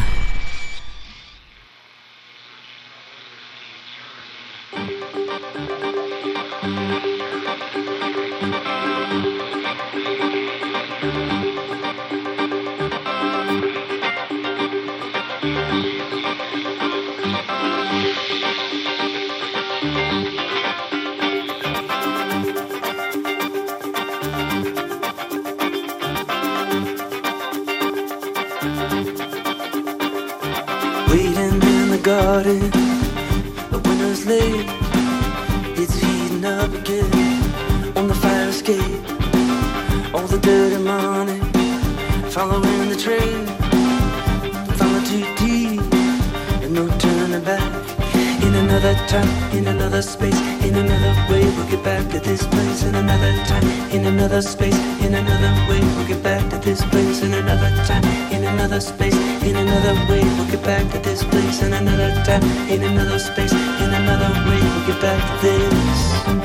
Waiting in the garden, the winter's late. It's heating up again on the fire escape. All the dirty money following the train. Follow too deep and no turning back. In another time, in another space, in another way, we'll get back to this place. In another time, in another space, in another way, we'll get back to this place. In another time, in another space, in another way, we'll get back to this place. In another time, in another space, in another way, we'll get back to this.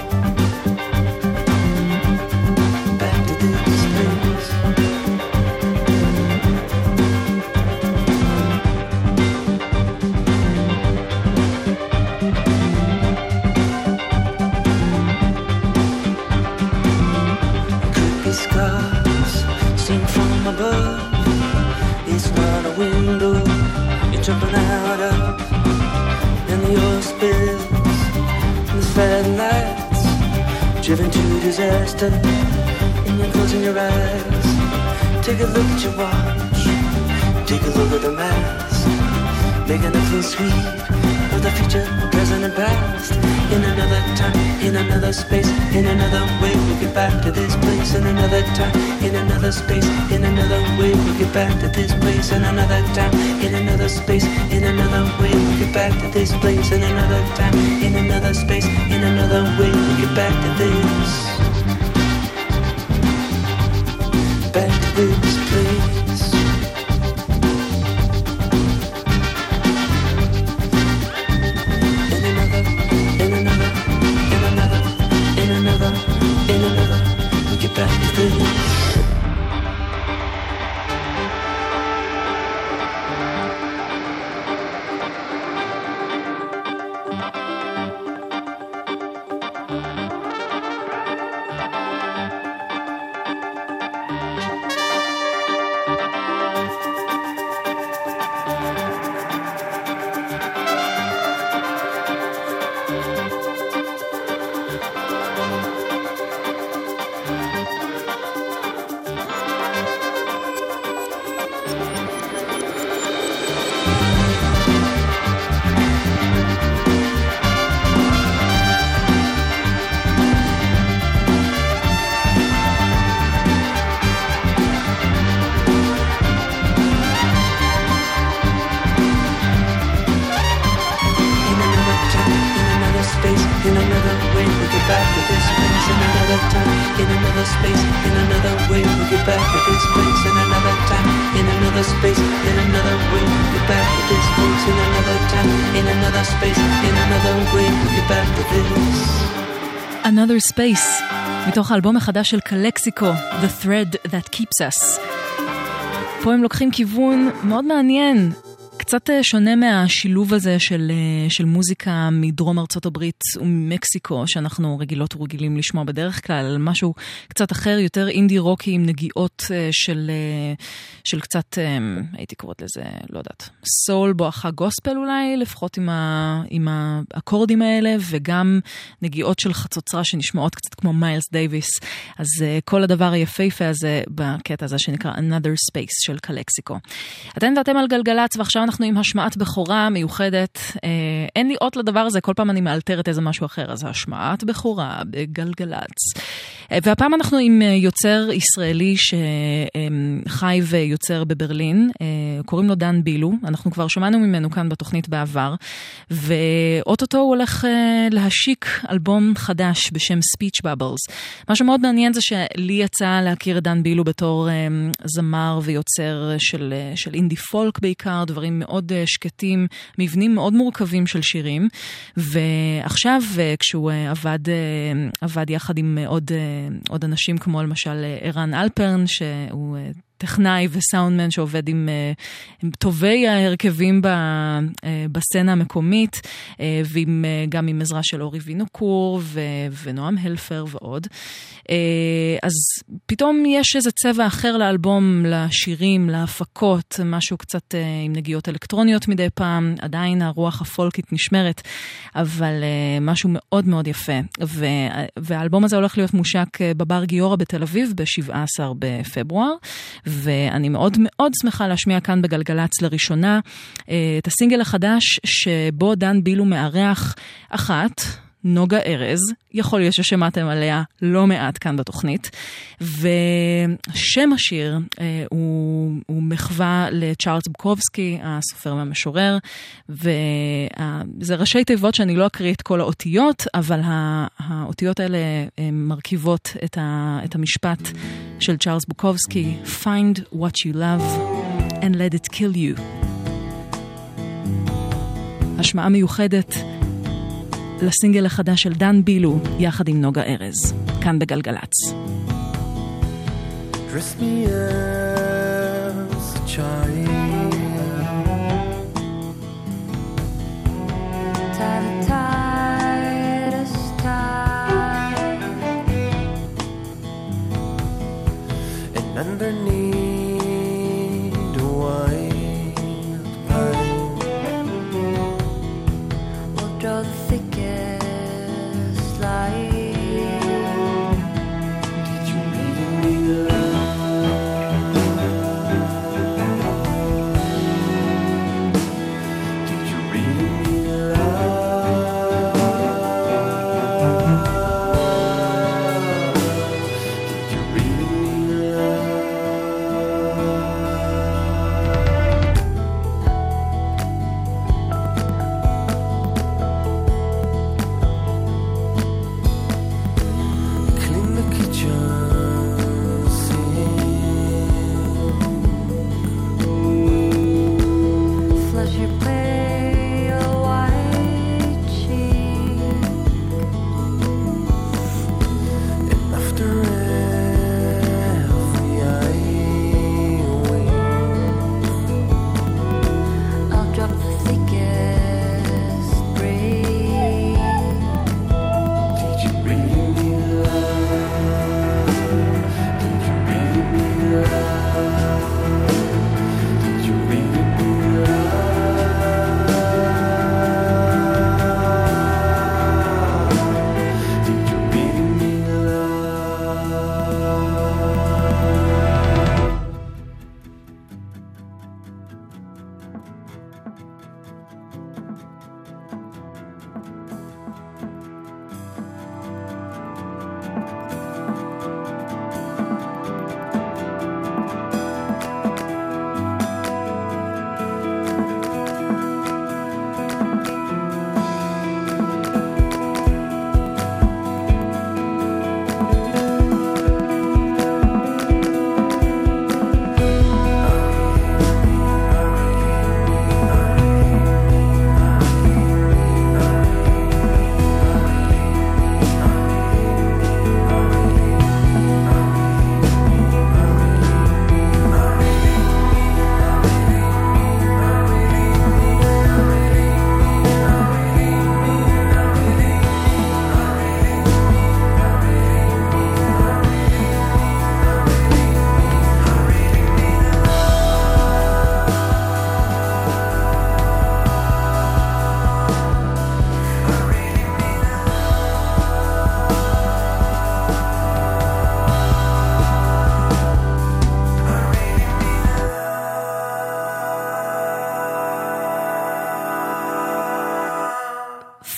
Back to this place. Scars seen from above. It's not a window you're jumping out of. And the oil spills and the sad nights, driven to disaster. And you're closing your eyes. Take a look at your watch. Take a look at the mask. Making nothing sweet of the future, present and past. In another time, in another space, in another way, we'll get back to this place. In another time, in another space, in another way, we'll get back to this place. In another time, in another space, in another way, we'll get back to this place. In another time, in another space, in another way, we'll get back to this. Back to this place. Back to this. in another space, in another way. We'll get back to this place in another time, in another space, in another way. We'll get back to this place in another time, in another space, in another way. We'll get back to this. Another Space, מתוך האלבום החדש של קלקסיקו, The Thread That Keeps Us. פה הם לוקחים כיוון מאוד מעניין, קצת שונה מהשילוב הזה של מוזיקה מדרום ארצות הברית וממקסיקו, שאנחנו רגילות ורגילים לשמוע בדרך כלל, משהו קצת אחר, יותר אינדי רוקי עם נגיעות של קצת, הייתי קוראת לזה, לא יודעת, סול בואכה גוספל אולי, לפחות עם האקורדים האלה, וגם נגיעות של חצוצרה שנשמעות קצת כמו מיילס דייביס. אז כל הדבר היפהפה הזה בקטע הזה שנקרא Another Space של קלקסיקו. אתם ואתם על גלגלץ, ועכשיו אנחנו עם השמעת בכורה מיוחדת. אין לי אות לדבר הזה, כל פעם אני מאלתרת איזה משהו אחר, אז השמעת בכורה בגלגלץ. והפעם אנחנו עם יוצר ישראלי שחי ויוצר בברלין, קוראים לו דן בילו, אנחנו כבר שמענו ממנו כאן בתוכנית בעבר, ואוטוטו הוא הולך להשיק אלבום חדש בשם Speech Bubbles. מה שמאוד מעניין זה שלי יצא להכיר את דן בילו בתור זמר ויוצר של אינדי פולק בעיקר, דברים מאוד שקטים, מבנים מאוד מורכבים של שירים, ועכשיו כשהוא עבד יחד עם עוד אנשים כמו למשל ערן אלפרן, שהוא טכנאי וסאונדמן שעובד עם טובי ההרכבים בסצנה המקומית, וגם עם עזרה של אורי וינוקור ונועם הלפר ועוד. אז פתאום יש איזה צבע אחר לאלבום, לשירים, להפקות, משהו קצת עם נגיעות אלקטרוניות מדי פעם, עדיין הרוח הפולקית נשמרת, אבל משהו מאוד מאוד יפה. והאלבום הזה הולך להיות מושק בבר גיורא בתל אביב ב-17 בפברואר, ואני מאוד מאוד שמחה להשמיע כאן בגלגלץ לראשונה את הסינגל החדש שבו דן בילו מארח אחת, נוגה ארז, יכול להיות ששמעתם עליה לא מעט כאן בתוכנית, ושם השיר הוא מחווה לצ'ארלס בוקובסקי, הסופר והמשורר, וזה ראשי תיבות שאני לא אקריא את כל האותיות, אבל האותיות האלה מרכיבות את המשפט של צ'ארלס בוקובסקי, Find what you love and let it kill you. השמעה מיוחדת לסינגל החדש של דן בילו יחד עם נוגה ארז, כאן בגלגלץ. Dress me as a child, tie the tightest tie, and underneath a white pine we'll draw the thickest line. Did you really mean love? Did you really mean love? Did you really mean love?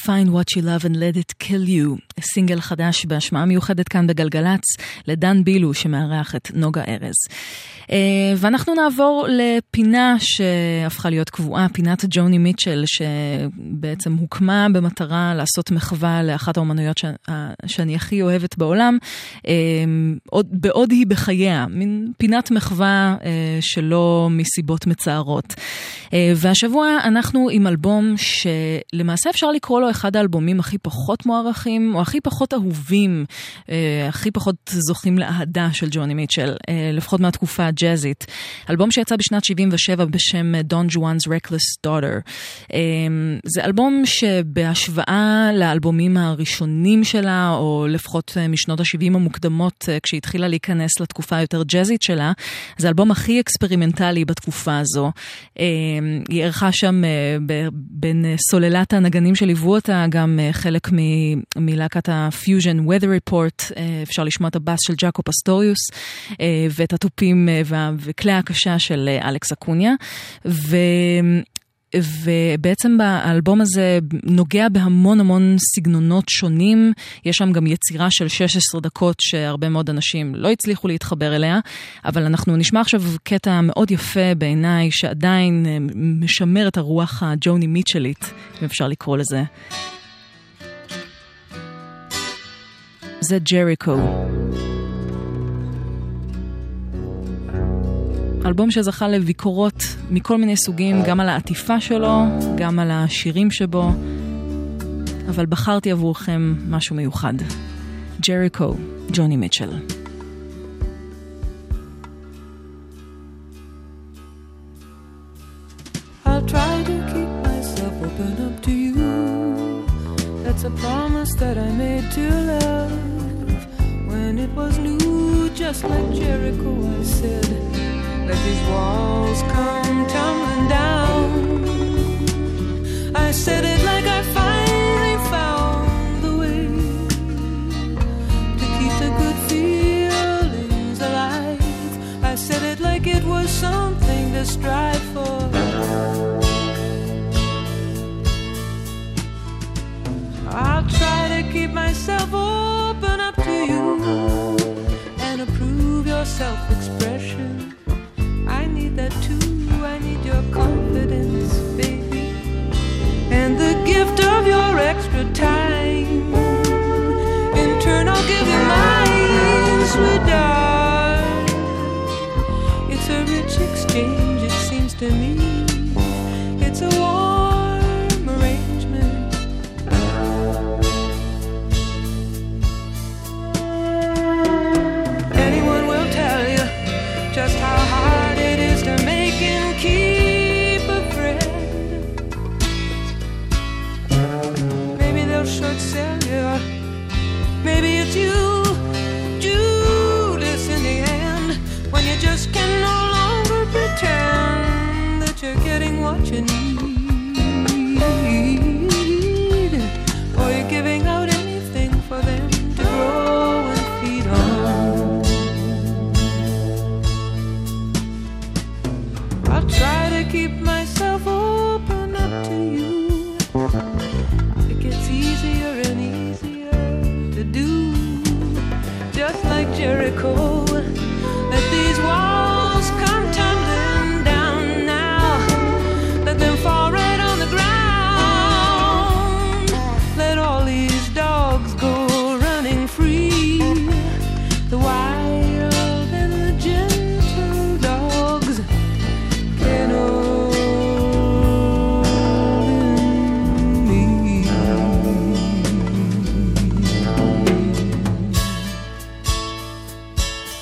Find what you love and let it kill you, סינגל חדש בהשמעה מיוחדת כאן בגלגלץ, לדן בילו שמארח את נוגה ארז. ואנחנו נעבור לפינה שהפכה להיות קבועה, פינת ג'וני מיטשל, שבעצם הוקמה במטרה לעשות מחווה לאחת האומנויות שאני הכי אוהבת בעולם, בעוד היא בחייה, מין פינת מחווה שלא מסיבות מצערות. והשבוע אנחנו עם אלבום שלמעשה אפשר לקרוא לו אחד האלבומים הכי פחות מוערכים, או הכי פחות אהובים, הכי פחות זוכים לאהדה של ג'וני מיטשל, לפחות מהתקופה הג'אזית. אלבום שיצא בשנת 77 בשם Don Juan's Reckless Daughter. זה אלבום שבהשוואה לאלבומים הראשונים שלה, או לפחות משנות ה-70 המוקדמות, כשהתחילה להיכנס לתקופה יותר ג'אזית שלה, זה האלבום הכי אקספרימנטלי בתקופה הזו. היא ערכה שם בין סוללת הנגנים שליוו אותה, גם חלק מלהקת הפיוז'ן Weather Report, אפשר לשמוע את הבאס של ג'אקו פסטוריוס, ואת הטופים וכלי הקשה של אלכס אקוניה, ובעצם באלבום הזה נוגע בהמון המון סגנונות שונים, יש שם גם יצירה של 16 דקות שהרבה מאוד אנשים לא הצליחו להתחבר אליה, אבל אנחנו נשמע עכשיו קטע מאוד יפה בעיניי, שעדיין משמר את הרוח הג'וני מיטשלית, אם אפשר לקרוא לזה. זה ג'ריקו. אלבום שזכה לביקורות מכל מיני סוגים, גם על העטיפה שלו, גם על השירים שבו, אבל בחרתי עבורכם משהו מיוחד. ג'ריקו, ג'וני מיטשל. I'll try to keep myself open up to you. That's a promise that I made to love. When it was new, just like Jericho, I said, let these walls come tumbling down. I said it like I finally found the way to keep the good feelings alive. I said it like it was something to strive for. I'll try to keep myself open up to you and approve your self-expression. I need that too, I need your confidence, baby, and the gift of your extra time. In turn I'll give you mine, sweet darling. It's a rich exchange, it seems to me. It's a warm arrangement. Anyone will tell you just how hard it is to make and keep a friend. Maybe they'll short sell you, maybe it's you, Judas, in the end, when you just can no longer pretend that you're getting what you need, or you're giving out anything for them to grow and feed on. I'll try to keep myself open up to you. It gets easier and easier to do, just like Jericho. Let these walls come tumbling down now. Let them fall right on the ground. Let all these dogs go running free. The wild and the gentle dogs can only me.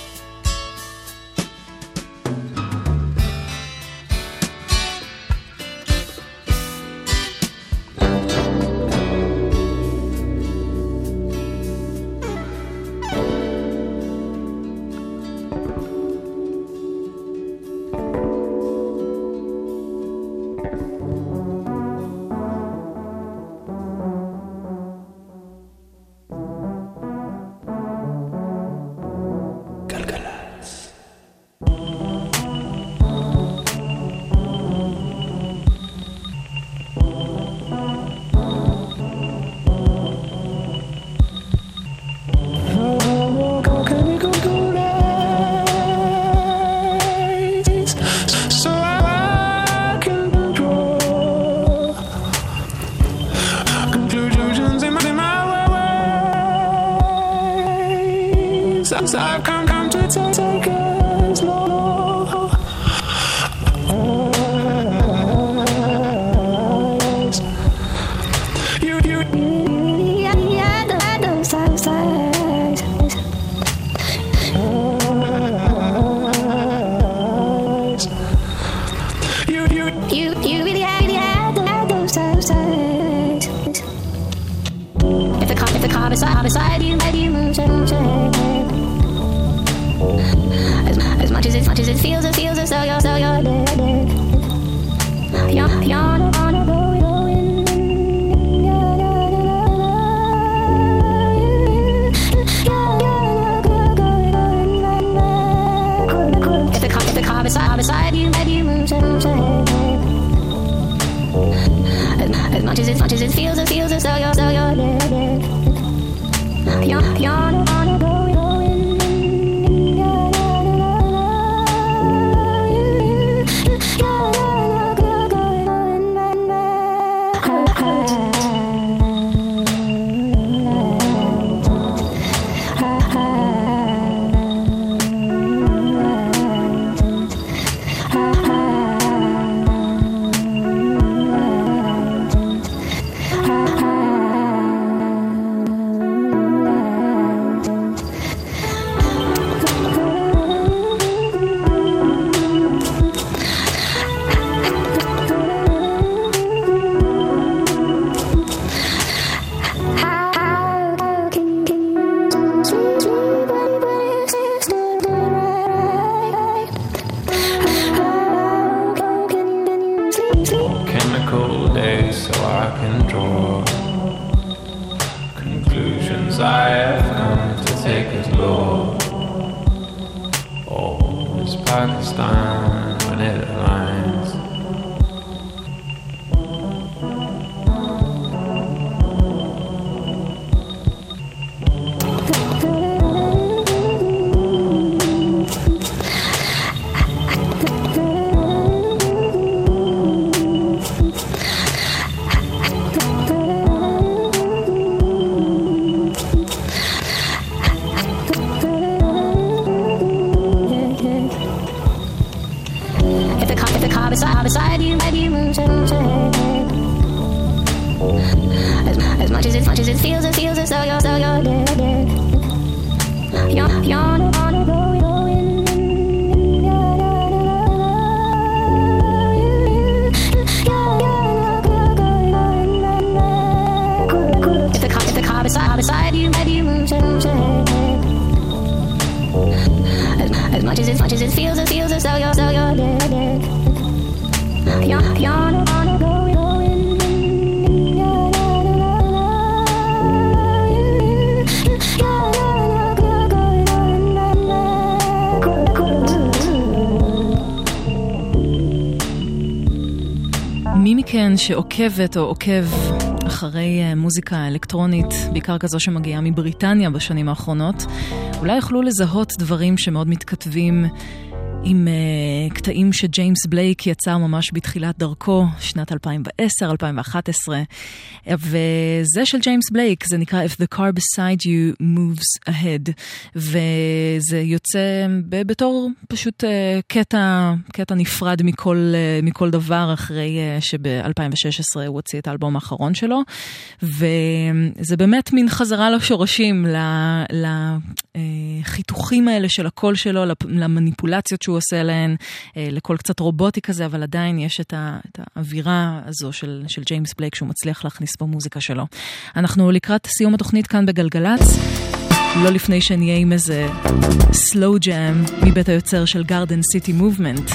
'cause I've come to take us more. Beside you, maybe you move, as much as it feels as though you're dead. You're gonna go in. If the car beside you, maybe you move, as much as it feels as though you're dead. You're gonna go in. Beside you, maybe you move, as much as it feels as though you're dead. You're gonna go in. If the car beside you, maybe you move, as much as it feels as though you're dead. You're gonna go in. מי מכן שעוקבת או עוקב אחרי מוזיקה אלקטרונית, בעיקר כזו שמגיעה מבריטניה בשנים האחרונות, אולי יוכלו לזהות דברים שמאוד מתכתבים עם קטעים שג'יימס בלייק יצר ממש בתחילת דרכו, שנת 2010-2011, וזה של ג'יימס בלייק, זה נקרא If the car beside you moves ahead, וזה יוצא בתור פשוט קטע נפרד מכל דבר, אחרי שב-2016 הוא הוציא את האלבום האחרון שלו, וזה באמת מין חזרה לשורשים, לחיתוכים האלה של הקול שלו, למניפולציות שהוא עושה להן, לקול קצת רובוטי כזה, אבל עדיין יש את האווירה הזו של ג'יימס בלייק שהוא מצליח להכניס במוזיקה שלו. אנחנו לקראת סיום התוכנית כאן בגלגלץ, לא לפני שנהיה עם איזה סלואו ג'אם מבית היוצר של גארדן סיטי מובמנט.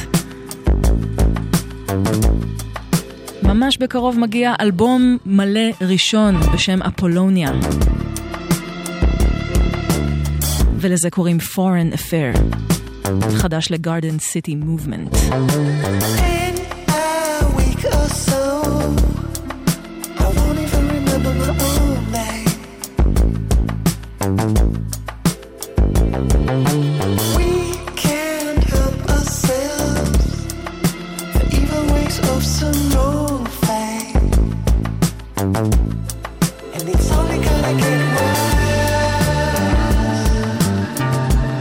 ממש בקרוב מגיע אלבום מלא ראשון בשם אפולוניה, ולזה קוראים Foreign Affair, חדש לגארדן סיטי מובמנט. And it's only gonna get worse.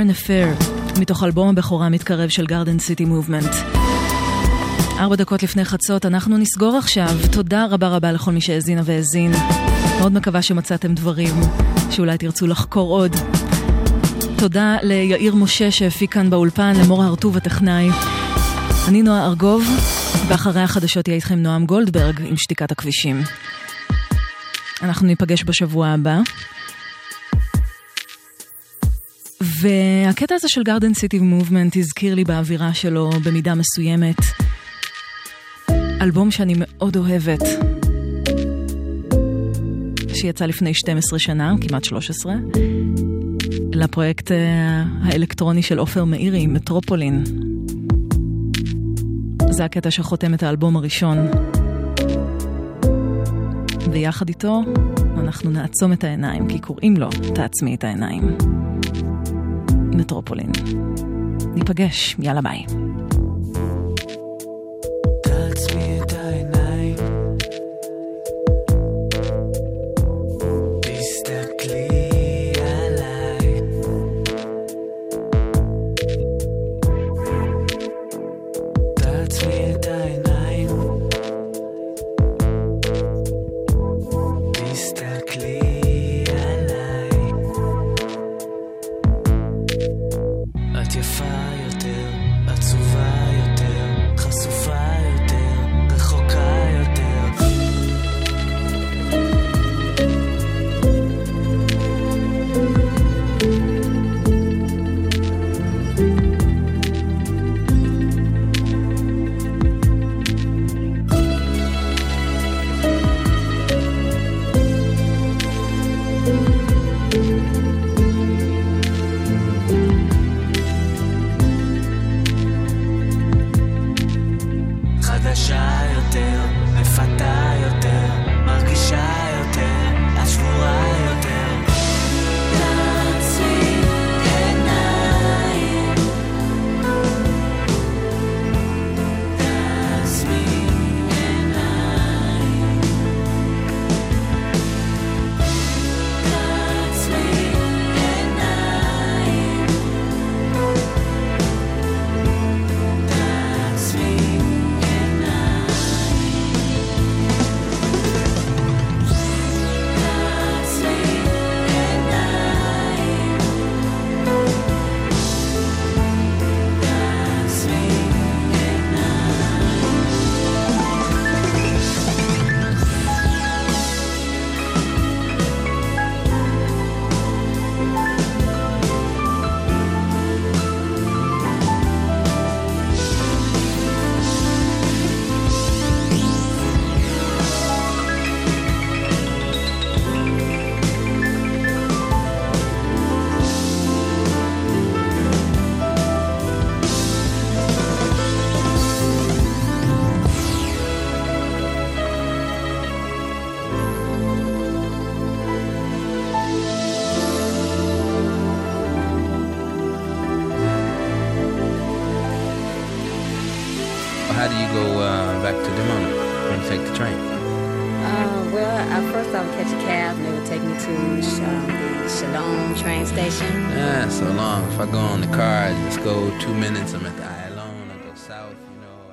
Foreign Affair, מתוך אלבום הבכורה מתקרב של Garden City Movement. 4 דקות לפני חצות, אנחנו נסגור עכשיו. תודה רבה רבה לכל מי שהאזינה והאזין. מאוד מקווה שמצאתם דברים שאולי תרצו לחקור עוד. תודה ליאיר משה שהפיק כאן באולפן, למור הרטוב הטכנאי. אני נועה ארגוב, ואחרי החדשות יהיה איתכם נועם גולדברג עם שתיקת הכבישים. אנחנו ניפגש בשבוע הבא. והקטע הזה של Garden City Movement הזכיר לי באווירה שלו במידה מסוימת אלבום שאני מאוד אוהבת, שיצא לפני 12 שנה, כמעט 13, לפרויקט האלקטרוני של עופר מאירי, מטרופולין. זה הקטע שחותם את האלבום הראשון. ויחד איתו אנחנו נעצום את העיניים, כי קוראים לו תעצמי את העיניים. מטרופולין. ניפגש, יאללה ביי. תעצמי את העיניים, תסתכלי עליי, תעצמי את העיניים, תסתכלי עליי. את יפה יותר, עצובה יותר, חשופה יותר, רחוקה יותר. חדשה יותר, מפתה יותר, מרגישה יותר, את שבורה יותר. תעצמי עיניים, תעצמי עיניים, תעצמי עיניים, תעצמי How do you go back to Dimona when you take the train? Well, at first I would catch a cab and they would take me to the Shalom train station. So long. If I go on the car, I just go 2 minutes, I'm at the